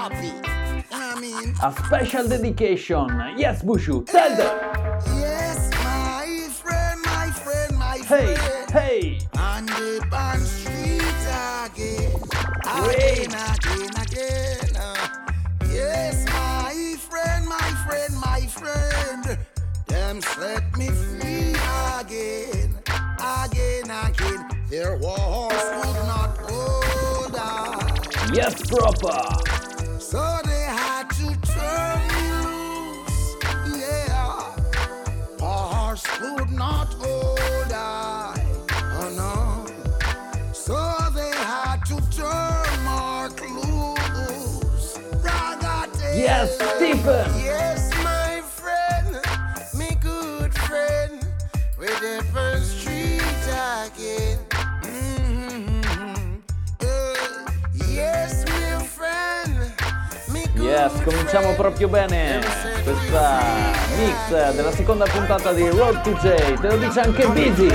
A special dedication. Yes, Buju, tell them. Yes, my friend, my friend, my friend. Hey, hey. On the band street again, again, again, again. Uh, yes, my friend, my friend, my friend. Them set me free again, again, again. Their walls would not hold on. Yes, proper. So they had to turn me loose. Yeah, bars would not hold on. Oh no. So they had to turn Mark loose. Ragate. Yes, Stephen. Yes, my friend, me good friend, with the first street again. Mm-hmm. Uh, yes, my friend, me good Yes, cominciamo proprio bene questa mix della seconda puntata di Road to J. Te lo dice anche Busy.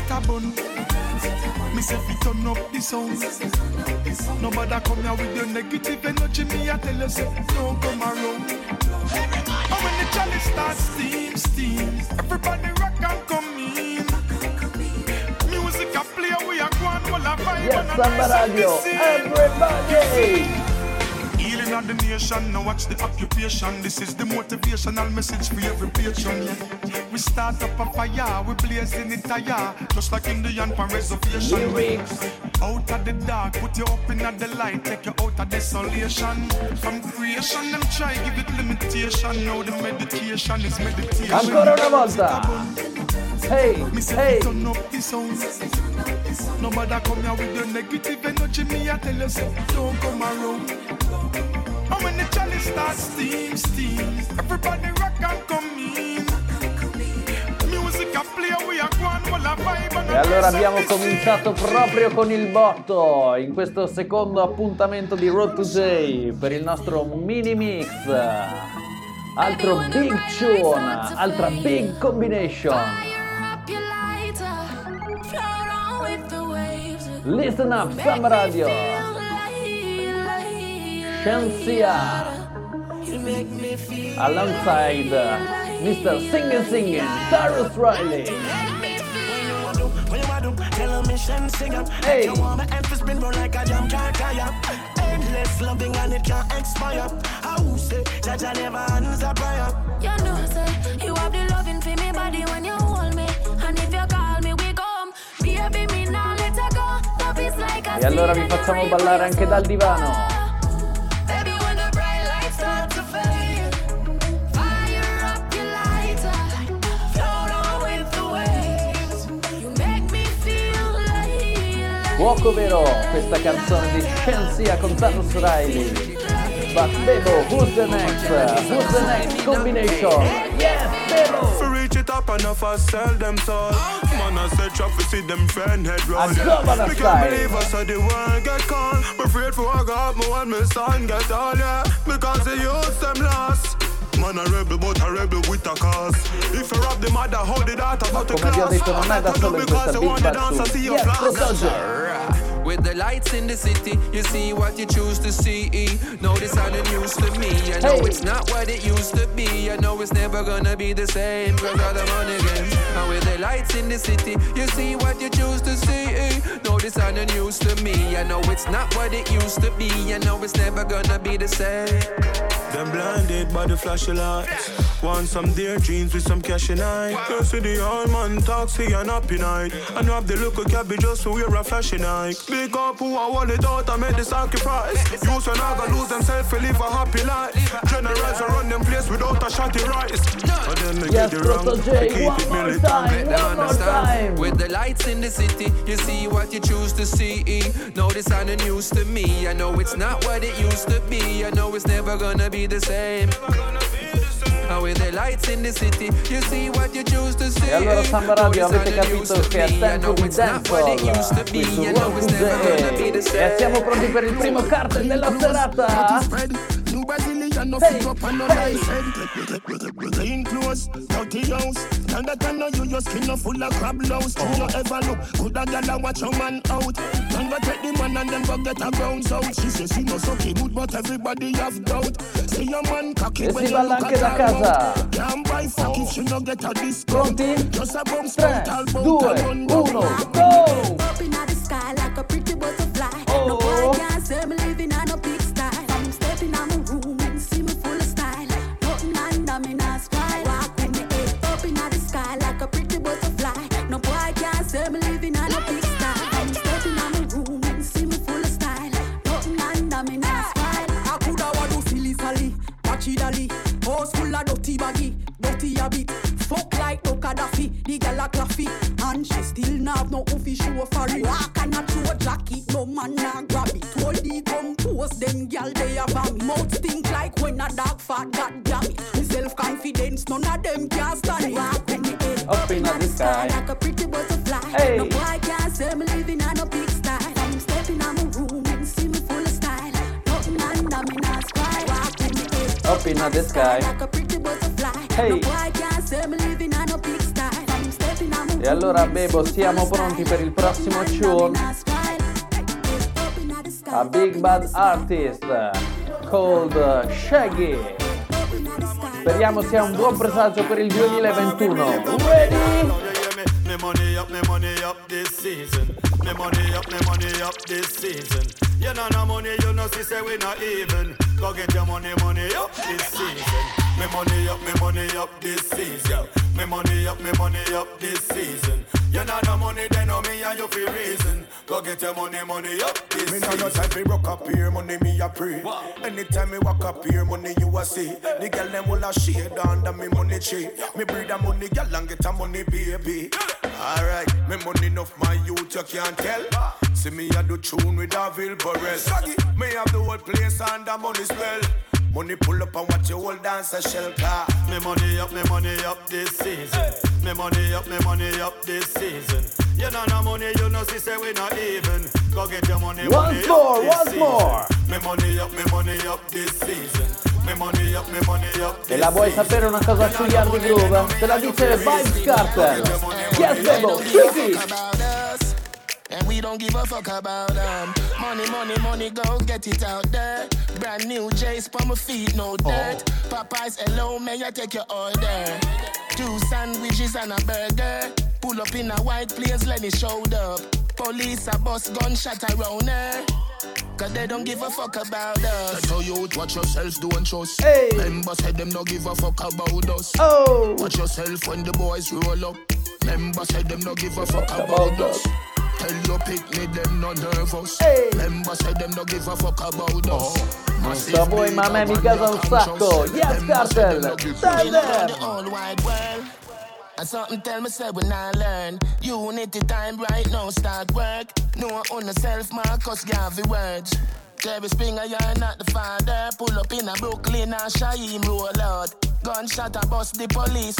Me say fi turn up the sound. Nobody come here with your negative energy. Me I tell you say don't come around. And when the chalice starts steam, steam, everybody rock and come in. Music a play, we a go on, while a vibe. Yes, Samba Radio, everybody. Healing of the nation, now watch the occupation. This is the motivational message for every patron. Yeah. We start up a fire, we blazing it higher, just like Indian for reservation. Lyrics. Out of the dark, put you up in the light, take you out of desolation. From creation, them try give it limitation. Now the meditation is meditation. Ancora una volta. Hey, Me say hey. turn up the sound. Nobody come here with your negative energy. Me I tell you say don't come around. And when the chalice starts steam, steam, everybody rock and come in. Music a play, we a go on, while a vibe. And E allora abbiamo cominciato proprio con il botto in questo secondo appuntamento di Road to J per il nostro mini mix. Altro big tune, altra big combination. Listen up, Samba Radio. Shensia alongside mister Singin' Singin', Tarrus Riley. Hey. Endless loving and it can't expire. How say Jaja never answer prayer. You know say you have the loving for me body when you hold me. And if you call me we come. Baby me now let her go. Love is like a E allora vi facciamo ballare anche dal divano. Baby when the bright lights start to fade. Fire up your lighter. Float on with the waves. You make me feel like Fuoco vero, questa canzone di Shensia con Tarrus Riley. But Bebo, who's the next? Who's the next combination? Yes, Bebo! For reach it up and if I sell them soul. Man, I said try to see them friend head roll. A governor We style. can't believe us so the world get cold. We're afraid for I got me when my son get all, yeah. Because they use them lost. Man a rebel but a rebel with a cause. If you rob the mother, hold the daughter out the Come vi ho class. detto, non è da solo in questa Big Bad Tune. Yes, Protoge! With the lights in the city, you see what you choose to see. No, this ain't the news to me. I know Hey. it's not what it used to be. I know it's never gonna be the same. Cause all the money game. And with the lights in the city, you see what you choose to see. No, this ain't the news to me. I know it's not what it used to be. I know it's never gonna be the same. Them blinded by the flashy lights. Want some dear jeans with some cash in eye. You see the old man talk, see an happy night. And you have the look of cabbage just to wear a flashy night. big up who I want it out and make the sacrifice. Youths when I gonna lose themselves to live a happy life. Generals will run them place without a shotty rise. But then they Yes, get it wrong, Proto they J, keep one it more militant. time, They one more understand. time. With the lights in the city, you see what you choose to see. No, this ain't news to me. I know it's not what it used to be. I know it's never gonna be the same. And with the lights in the city, you see what you choose to see. E allora Samba Radio, No, this avete ain't news capito to che è me. I tempo know di it's not what it used to dancehall be. qui su I know it's never gonna be the Road same. e siamo pronti per il primo cartel della serata. New Brazilian, no Hey, fit up and no hey. nice head. Clean clothes, dirty house. And that I know you, your skin no full of crab louse. Do you ever look good a gal and watch your man out? Man go take the man and then go get a bounce out. She says she no sucky good, but everybody have doubt. See your man cocky E when si you balla look anche at da her casa. mouth. Can't buy fuck if she no get a discount. Pronti? Just a bum tre, spout, all bout due, a run uno, down. go! Up in the sky like a pretty butterfly. Oh. No boy can't say me living on a big style. I'm stepping on my room and see me full of style. Nothing under me not spy. Walk with me head up in the sky like a pretty butterfly. No boy can't say me living on a big style. I'm stepping on my room and see me full of style. Nothing under me not spy. I coulda want to silly sally, watchy dally. House full of dirty baggy, dirty habit. Fuck like no Gaddafi, the gal a claffy. And she still not have no official for it. Walk and a throw jacket, no man nah grab it. Hold the come post, them gal they have a me. Mouth stink like when a dog fat, god damn it. Me self-confidence, none of them can stand it. Walk with me head Up in the sky. like a pretty butterfly. Hey. No boy can't say me living on a big style. I'm stepping on my room and see me full of style. Nothing under me not spy. Walk with me head Up in the sky. like a pretty butterfly. Hey. No boy can't say me living on a big style. I'm stepping on my room E allora and see Bebo, me siamo full of pronti style. per il prossimo Nothing under me tune. not spy. Up in the sky, A up big in bad the sky. artist called Shaggy. Speriamo sia un buon presagio per il duemilaventuno. Ready? Me money up, me money up this season. Me money up, me money up this season. You know no money, you know see say we not even. Go get your money, money up this season. Me money up, me money up this season. Me money up, me money up this season. You know no money, then no me and you feel reason. Go get your money, money up this Me season. know no time fi rock up here, money me a pray. Anytime me walk up here, money you a see. The girl them all a shade under me money tree. Me breed a money girl and get a money baby. Alright, me money enough my youth you can't tell. See me a do tune with a Vilborel. Saggy, me have the whole place under money spell. Money pull up and watch your whole dance a shell car. Me money up, me money up this season. Me money up, me money up this season. You know no money, you know see say we not even. Go get your money, money Once more, up this once season. more. Me money up, me money up this season. Me money up, me money up this E la vuoi season. sapere una cosa sugli Hardy Groove? Te la dice Vibes Cartel. Yes, Bebo, kick it! And we don't give a fuck about them. Money, money, money, go get it out there. Brand new J's for my feet, no dirt. Popeyes, hello, may I take your order? Two sandwiches and a burger. Pull up in a white place, let me show up. Police, a bus, gunshot around her. Cause they don't give a fuck about us. Tell you watch yourself, don't trust. Hey. Members said them no give a fuck about us. Oh! Watch yourself when the boys roll up. Members said them no give a fuck about us. Tell your picnic them no nervous. Hey. Members said them no give a fuck about us. Non so voi, ma a me mi casa un sacco. Yes, Cartel! Stand there! All wide world. And something tell me say we not learn. Unity time right now start work. No on the self Marcus Garvey words. Jerry Springer, you're not the father. Pull up in a Brooklyn and Shaheem roll out. Gunshot a bust the police.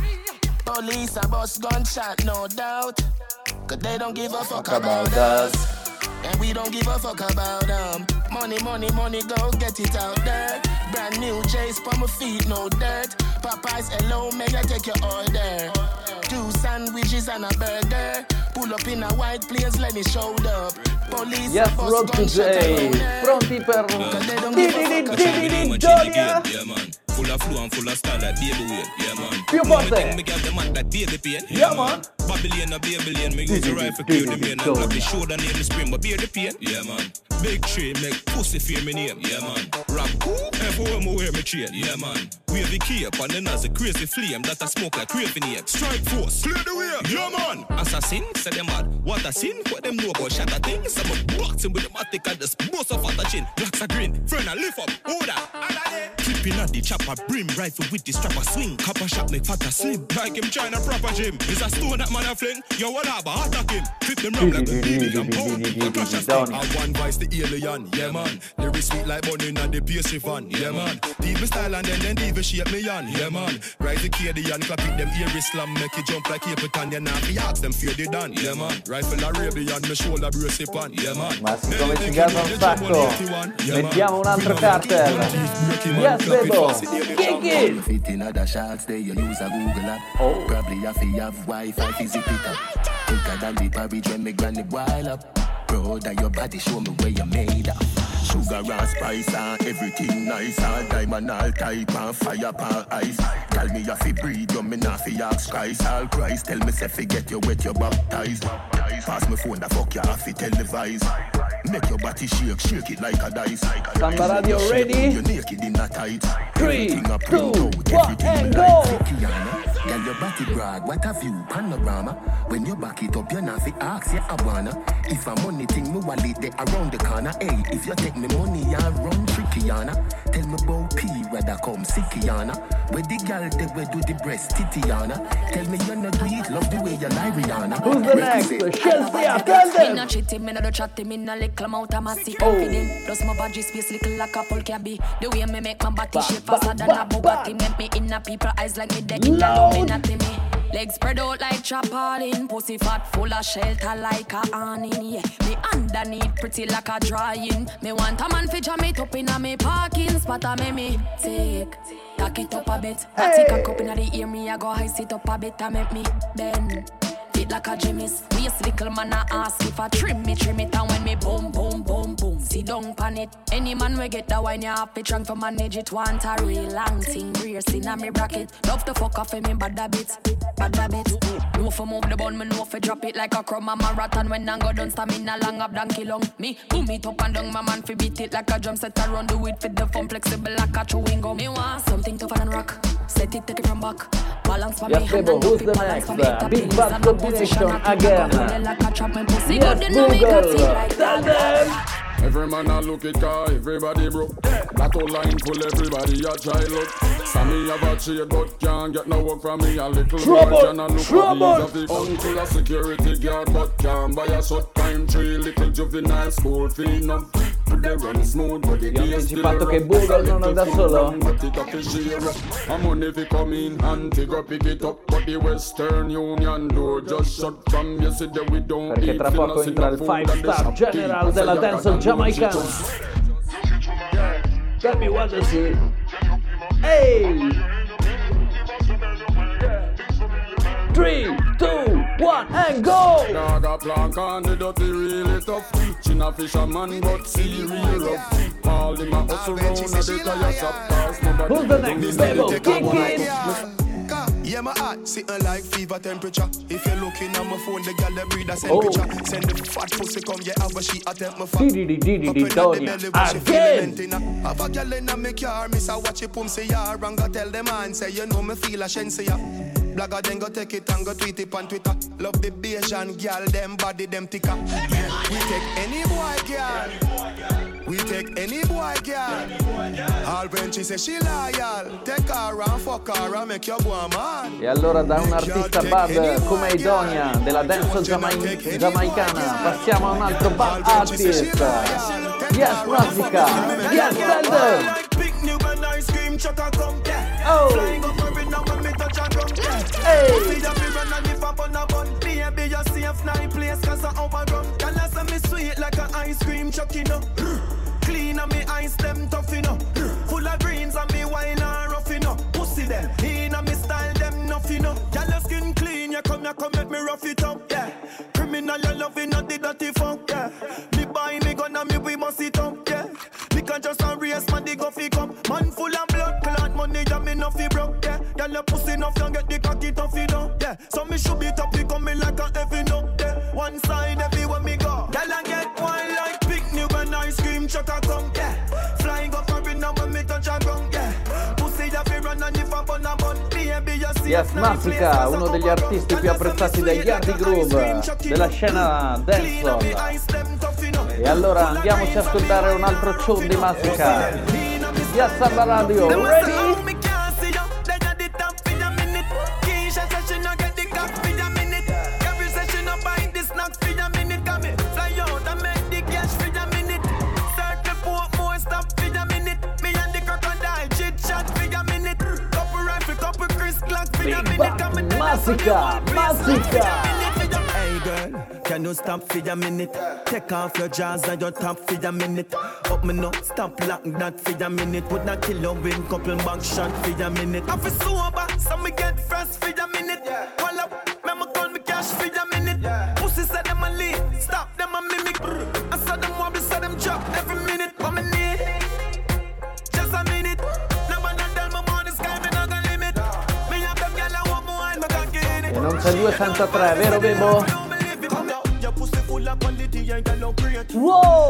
Police a bust gunshot, no doubt. Cause they don't give a fuck about us. And we don't give a fuck about them. Money, money, money, go get it out there. Brand new J's for my feet, no dirt. Popeyes, hello, may I take your order? Two sandwiches and a burger. Pull up in a white place, let me show up. Police, Yes, Road to J. Pronti per Di di di di di di Gioia? Full of flow and full of style like baby weight, yeah man. Più forte. Me get the mat like baby pain, Yeah man. Babylon a Babylon, me use the rifle clear the main and clap the shoulder near the spring, but bear the pain, yeah man. Big tree make pussy fear me name, yeah man. Rap cool, everywhere me wear me chain, yeah man. Wavy cape and then as a crazy flame that I smoke like craving ape. Strike force, clear the way, Yeah man, assassin, say them mad. What a sin, what them know about shatter things. Some box him with the matic and just boss off at the chin. Blacks are green, friend I lift up, order. Clipping at the chopper, brim, rifle with the strapper swing. Copper shot make fatter slim. Like him trying a proper gym. Is a stone that man a fling. Yo, what up, attack him. Flip them round like a B B and pound. Crash a stick. I one vice the alien, yeah man. Lyrics sweet like bunny and the pastry fan, yeah man. Diva style and then then diva shape me on, yeah man. Rise the Cadian, clapping them ear slam, make it jump like Capitan. You know, we ask them fear they done, yeah man. Rifle Arabian, me shoulder brace it on, yeah man. Ma siccome ci gasa un sacco, mettiamo un altro cartel. Yes, Bebo, kick it! Fit in other shots, they you use a Google app. Oh. Probably have to have Wi-Fi to zip it up. Quicker than the porridge when me granny boil up. Proud of your body, show me where you made up. Sugar and spice and everything nice. All diamond, all type and fire and ice. Tell me if you breathe, you me not fi ask Christ. All Christ, tell me say forget you wet, you baptized. Pass me phone, the fuck you have to televise. Make your body shake, shake it like a dice. Samba Radio ready? You naked in a tight. Three, two, one, and go! Girl, your body brag, what a view, panorama. When you back it up, you not fi ask, you a wanna. If a money thing, me wallet they around the corner. Hey, if you take me money, you run tricky, Yana. Tell me about P, whether come sicky, Yana. Where the girl, they will do the breast, titty, Yana. Tell me you not do it, love the way you lie, Rihanna. Who's the next? Chelsea, tell them! Me not cheating, me not do chatting, me not little amount of massy confident. Plus my body space little like a full cabby. The way me make my body shape faster than a Bugatti. Make me in a people eyes like me deck in a me not me. Legs spread out like chapalin. Pussy fat full of shelter like a awning. Yeah, me underneath pretty like a drying. Me want a man fi jam it up in a me parking spot. A me me take, tack it up a bit. I take a cup in the ear, me I go high sit up a bit. I make me bend. Fit like a Jimmy's. Waist little man I ask if I trim me, trim it. And when me boom, boom, boom, boom, sit down pan it. Any man we get the wine, you have to trunk for manage it. Want a real long thing, rear sin on me bracket. Love to fuck off me bad a bit, bad a bit. No for move the bun, me no for drop it like a crumb a marathon. When I go down, stamina long up donkey long. Me boom it up and down, my man fi beat it like a drum set around. Do it for the fun, flexible like a chewing gum. Me want something tougher than rock. Set it, take it from back. Balance for me, yes, Bebo, who's the next? Uh, big bad combination again. Yes, Google, tell them. Every man a look it car, everybody broke. That whole line full, everybody a try look. Sammy have a trade but can't get no work from me. A little boy can a look at these of the uncle a security guard but can't buy a short time tree. Little juvenile school fee up. Vi ho anticipato che Google non è da solo. Perché tra poco entra il five star general della danza giamaicana. Tell me what to see. Hey! three, two, one, and go! Dog plan candidate really tough. China fisherman but see real rough. All in my hustle round at the tire shop. Who's the next? Bebo, kick it! Yeah, my heart sitting like fever temperature. If you're looking at my phone, the gal that breathe a temperature. Oh. Send the fat pussy come, yeah, have a sheet attempt my fat. Didi didi di Donia again. Have a gal in a me car, miss a watch it pum say ya. And go tell them man say you know me feel a shen say ya. Blagger then go take it and go tweet it on Twitter. Love the Bayesian gal, them body them thicker. We take any boy gal. We take any boy girl. All when she say she loyal, take her and fuck her and make your boy man. E allora da un artista bad come Idonia della dance giamai- giamaicana passiamo a un altro bad artist. Yes, Razika. Yes, Zelda. Oh. Hey. Baby, you safe night place cause I overrun. Can I say me sweet like an ice cream chuck, you know? Clean and me eyes them tough, you know? Full of greens and me wine and rough, you know? Pussy them, in and me style them nuff, you know? Girl, your skin clean, you come, you come make me rough it up, yeah. Criminal, you love it, not the dirty funk, yeah. Me buy me gun and me we must it up, yeah. Me can just a race, man, the guffy come. Man full of blood, clot money, yeah, me nuffy broke, yeah. Girl, your pussy enough, you get the cocky tough, you know? Yeah, so me should be top, you come me like a heavy no, yeah. One side everywhere me go. Girl, I get one like picnic when ice cream truck a come, yeah. Flying up and now when me touch a ground, yeah. Pussy, you fi run and if I bun a bun, baby, you Yes Massica, uno degli artisti più apprezzati dai Yardi Groove della scena dancehall. E allora andiamoci a ascoltare un altro tune di Massica. Yes Samba Radio, ready? Massica, Massica. Hey girl, can you stop for a minute? Take off your jaws and your top for a minute. Up me no, stop like that for a minute. Would not kill you win couple back shot for a minute. I feel sober, so me get fresh for a minute. Call up, me call me cash for a minute. Pussy said them a lead, stop them a mimic. I saw them wobble, saw them drop every minute. What me need? Just a minute. E non c'è due senza tre, vero Bebo? Wow!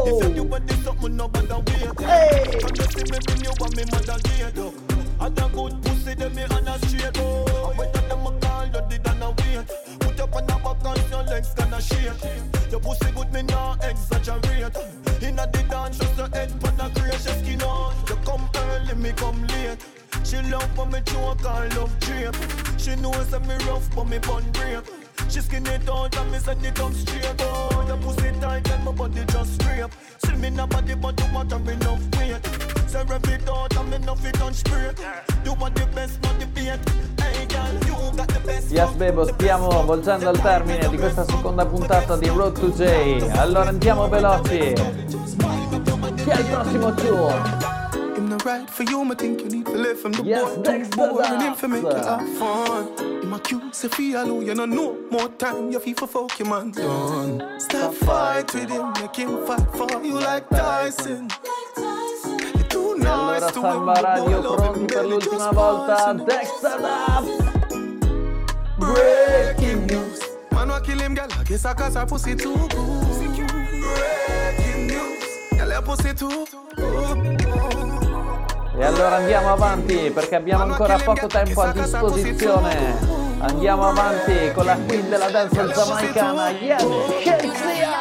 Hey! Your pussy good, me not exaggerate. Inna the dance, just a head pan a gracious skin on. You come early, me come late. She love when me choke and love drape. She knows that me rough, but me bun break. She skin it out and me send it up straight. Oh, your pussy tight and my body just scrape. Slim in a body, but you want have enough weight. So rev it out and me nuff it on spray. You want the best, not the bait. Hey girl, you got the best. Yes Bebo, stiamo volgendo al termine di questa seconda puntata di Road to J. Allora andiamo veloci. Chi è il prossimo tour? Right for you, I think you need to live from the yes, boy boring him for make you have fun. In my cute, say feel you know no more time. You feel for fuck your man done. Stop fight with him, make him fight for you like Tyson. E allora Samba Radio pronti per l'ultima volta. Dexter up. Breaking news. Man wa kill him, girl. I guess I got her pussy too good. Breaking news. Girl, her pussy too good. E allora andiamo avanti perché abbiamo ancora poco tempo a disposizione. Andiamo avanti con la queen della danza giamaicana, Yes Shenseea.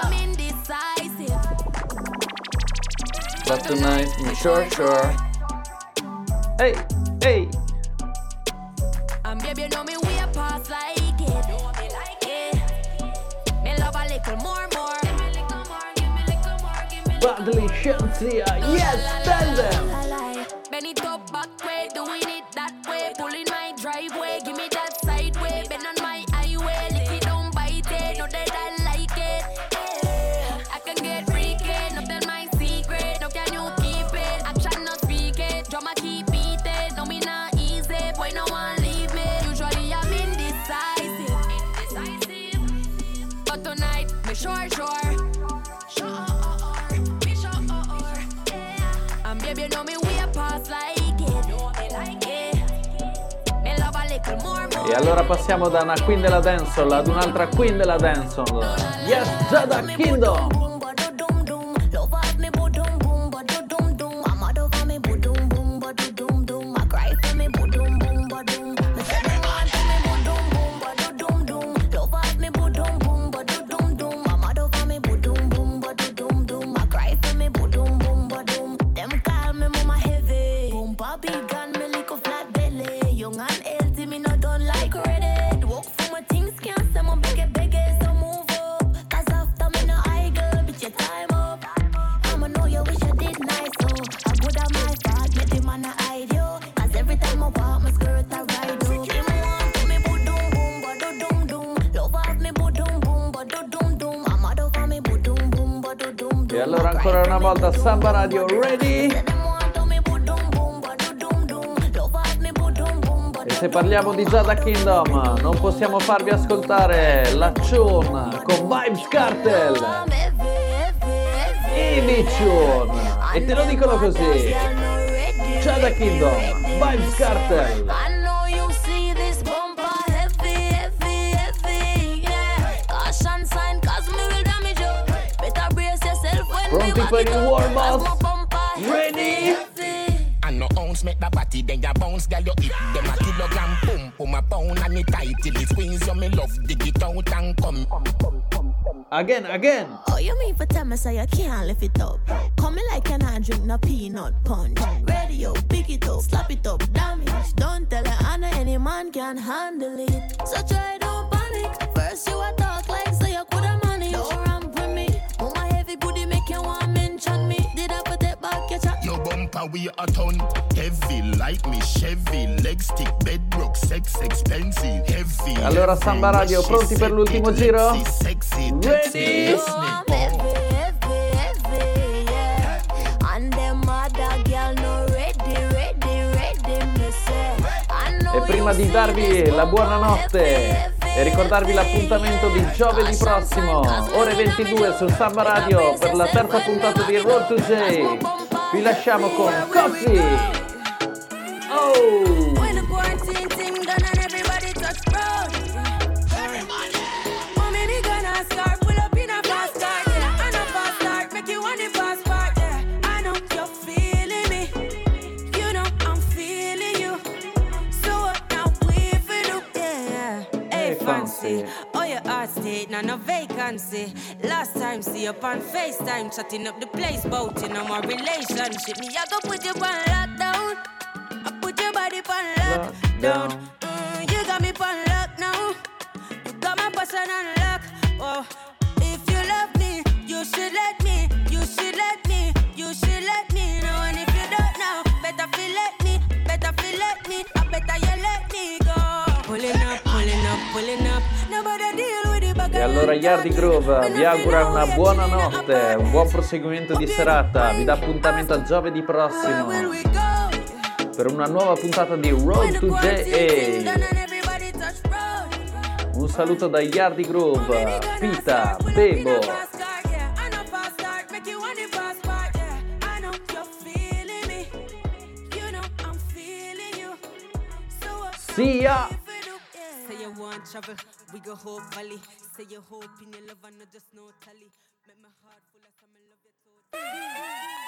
But tonight, sure sure. Hey, hey. Um, baby, you know me way past like it. Know me like it. Me love a little more, more. Give me little more, give me little more, give me. Badly Shenseea, yes, tell them. Bend it up back way, doing it that way. Pulling my driveway, give me that side way. Bend on my highway, lick it, don't bite it. Know that I like it. Yeah. I can get freaky, not tell my secret. Now can you keep it? Action not speak it. Drama keep beating. No me not easy, boy no one leave me. Usually I'm indecisive, indecisive. But tonight, me sure, sure. Sure, me sure, yeah. And baby, you know me. E allora passiamo da una queen della dancehall ad un'altra queen della dancehall. Yes, Jada Kingdom. E allora ancora una volta Samba Radio ready? E se parliamo di Jada Kingdom non possiamo farvi ascoltare la Chun con Vybz Kartel, Ivy Chun, e te lo dicono così: Jada Kingdom, Vybz Kartel. Pronti per il warm up? Ready? And no ounce make the body, then you bounce, girl, you hit them a kilogram, boom, boom, a pound and it tight till it squeeze you, me love, dig it out and come. Again, again. Oh, you mean for tell me so you can't lift it up? Come me like you not drink no peanut punch. Radio, pick it up, slap it up, damage. Don't tell her Anna any man can handle it. So try don't panic. First you a talk like so you coulda manage. Don't ramp with me. Oh my heavy booty make you want mention me. Did I put it back your chat? Your bumper we a ton. Heavy like me Chevy. Leg stick, bedrock, sex expensive. Heavy. Allora Samba Radio, pronti per l'ultimo giro? Sexy, Ready? Oh, I'm heavy, heavy, heavy, yeah. And them other girl no ready, ready, ready, me say. I know E prima di darvi la buonanotte e ricordarvi l'appuntamento di giovedì prossimo, ore ventidue su Samba Radio per la terza puntata di Road to J. Vi lasciamo con Coffee. Oh! When the quarantine thing done and everybody touch road. Everybody. Mommy, me gonna start, pull up in a fast car, yeah. I know fast start, make you want the fast part, yeah. I know you're feeling me, you know I'm feeling you. So what now we feel do, yeah. Hey, fancy, oh your heart state, now no vacancy. Last time see you on FaceTime, chatting up the place, bout you know my relationship. Me, I go put you on lockdown. Put your body on lockdown. Mm, you got me on lock now. You got my passion on lock. Oh, if you love me, you should let me. You should let me. You should let me know. And if you don't know, better feel let me. Better feel let me. I better you let me go. Pulling up, pulling up, pulling up. Nobody deal with it. E allora Yardi Groove vi augura una buona notte, un buon proseguimento di serata. Vi dà appuntamento a giovedì prossimo per una nuova puntata di Road to J A. Un saluto da Yardi Groove, Pita, Bebo. See ya! Say you want travel, we go Hope Valley. Say you hope in your love and not just no tally. Make my heart full of some love you totally.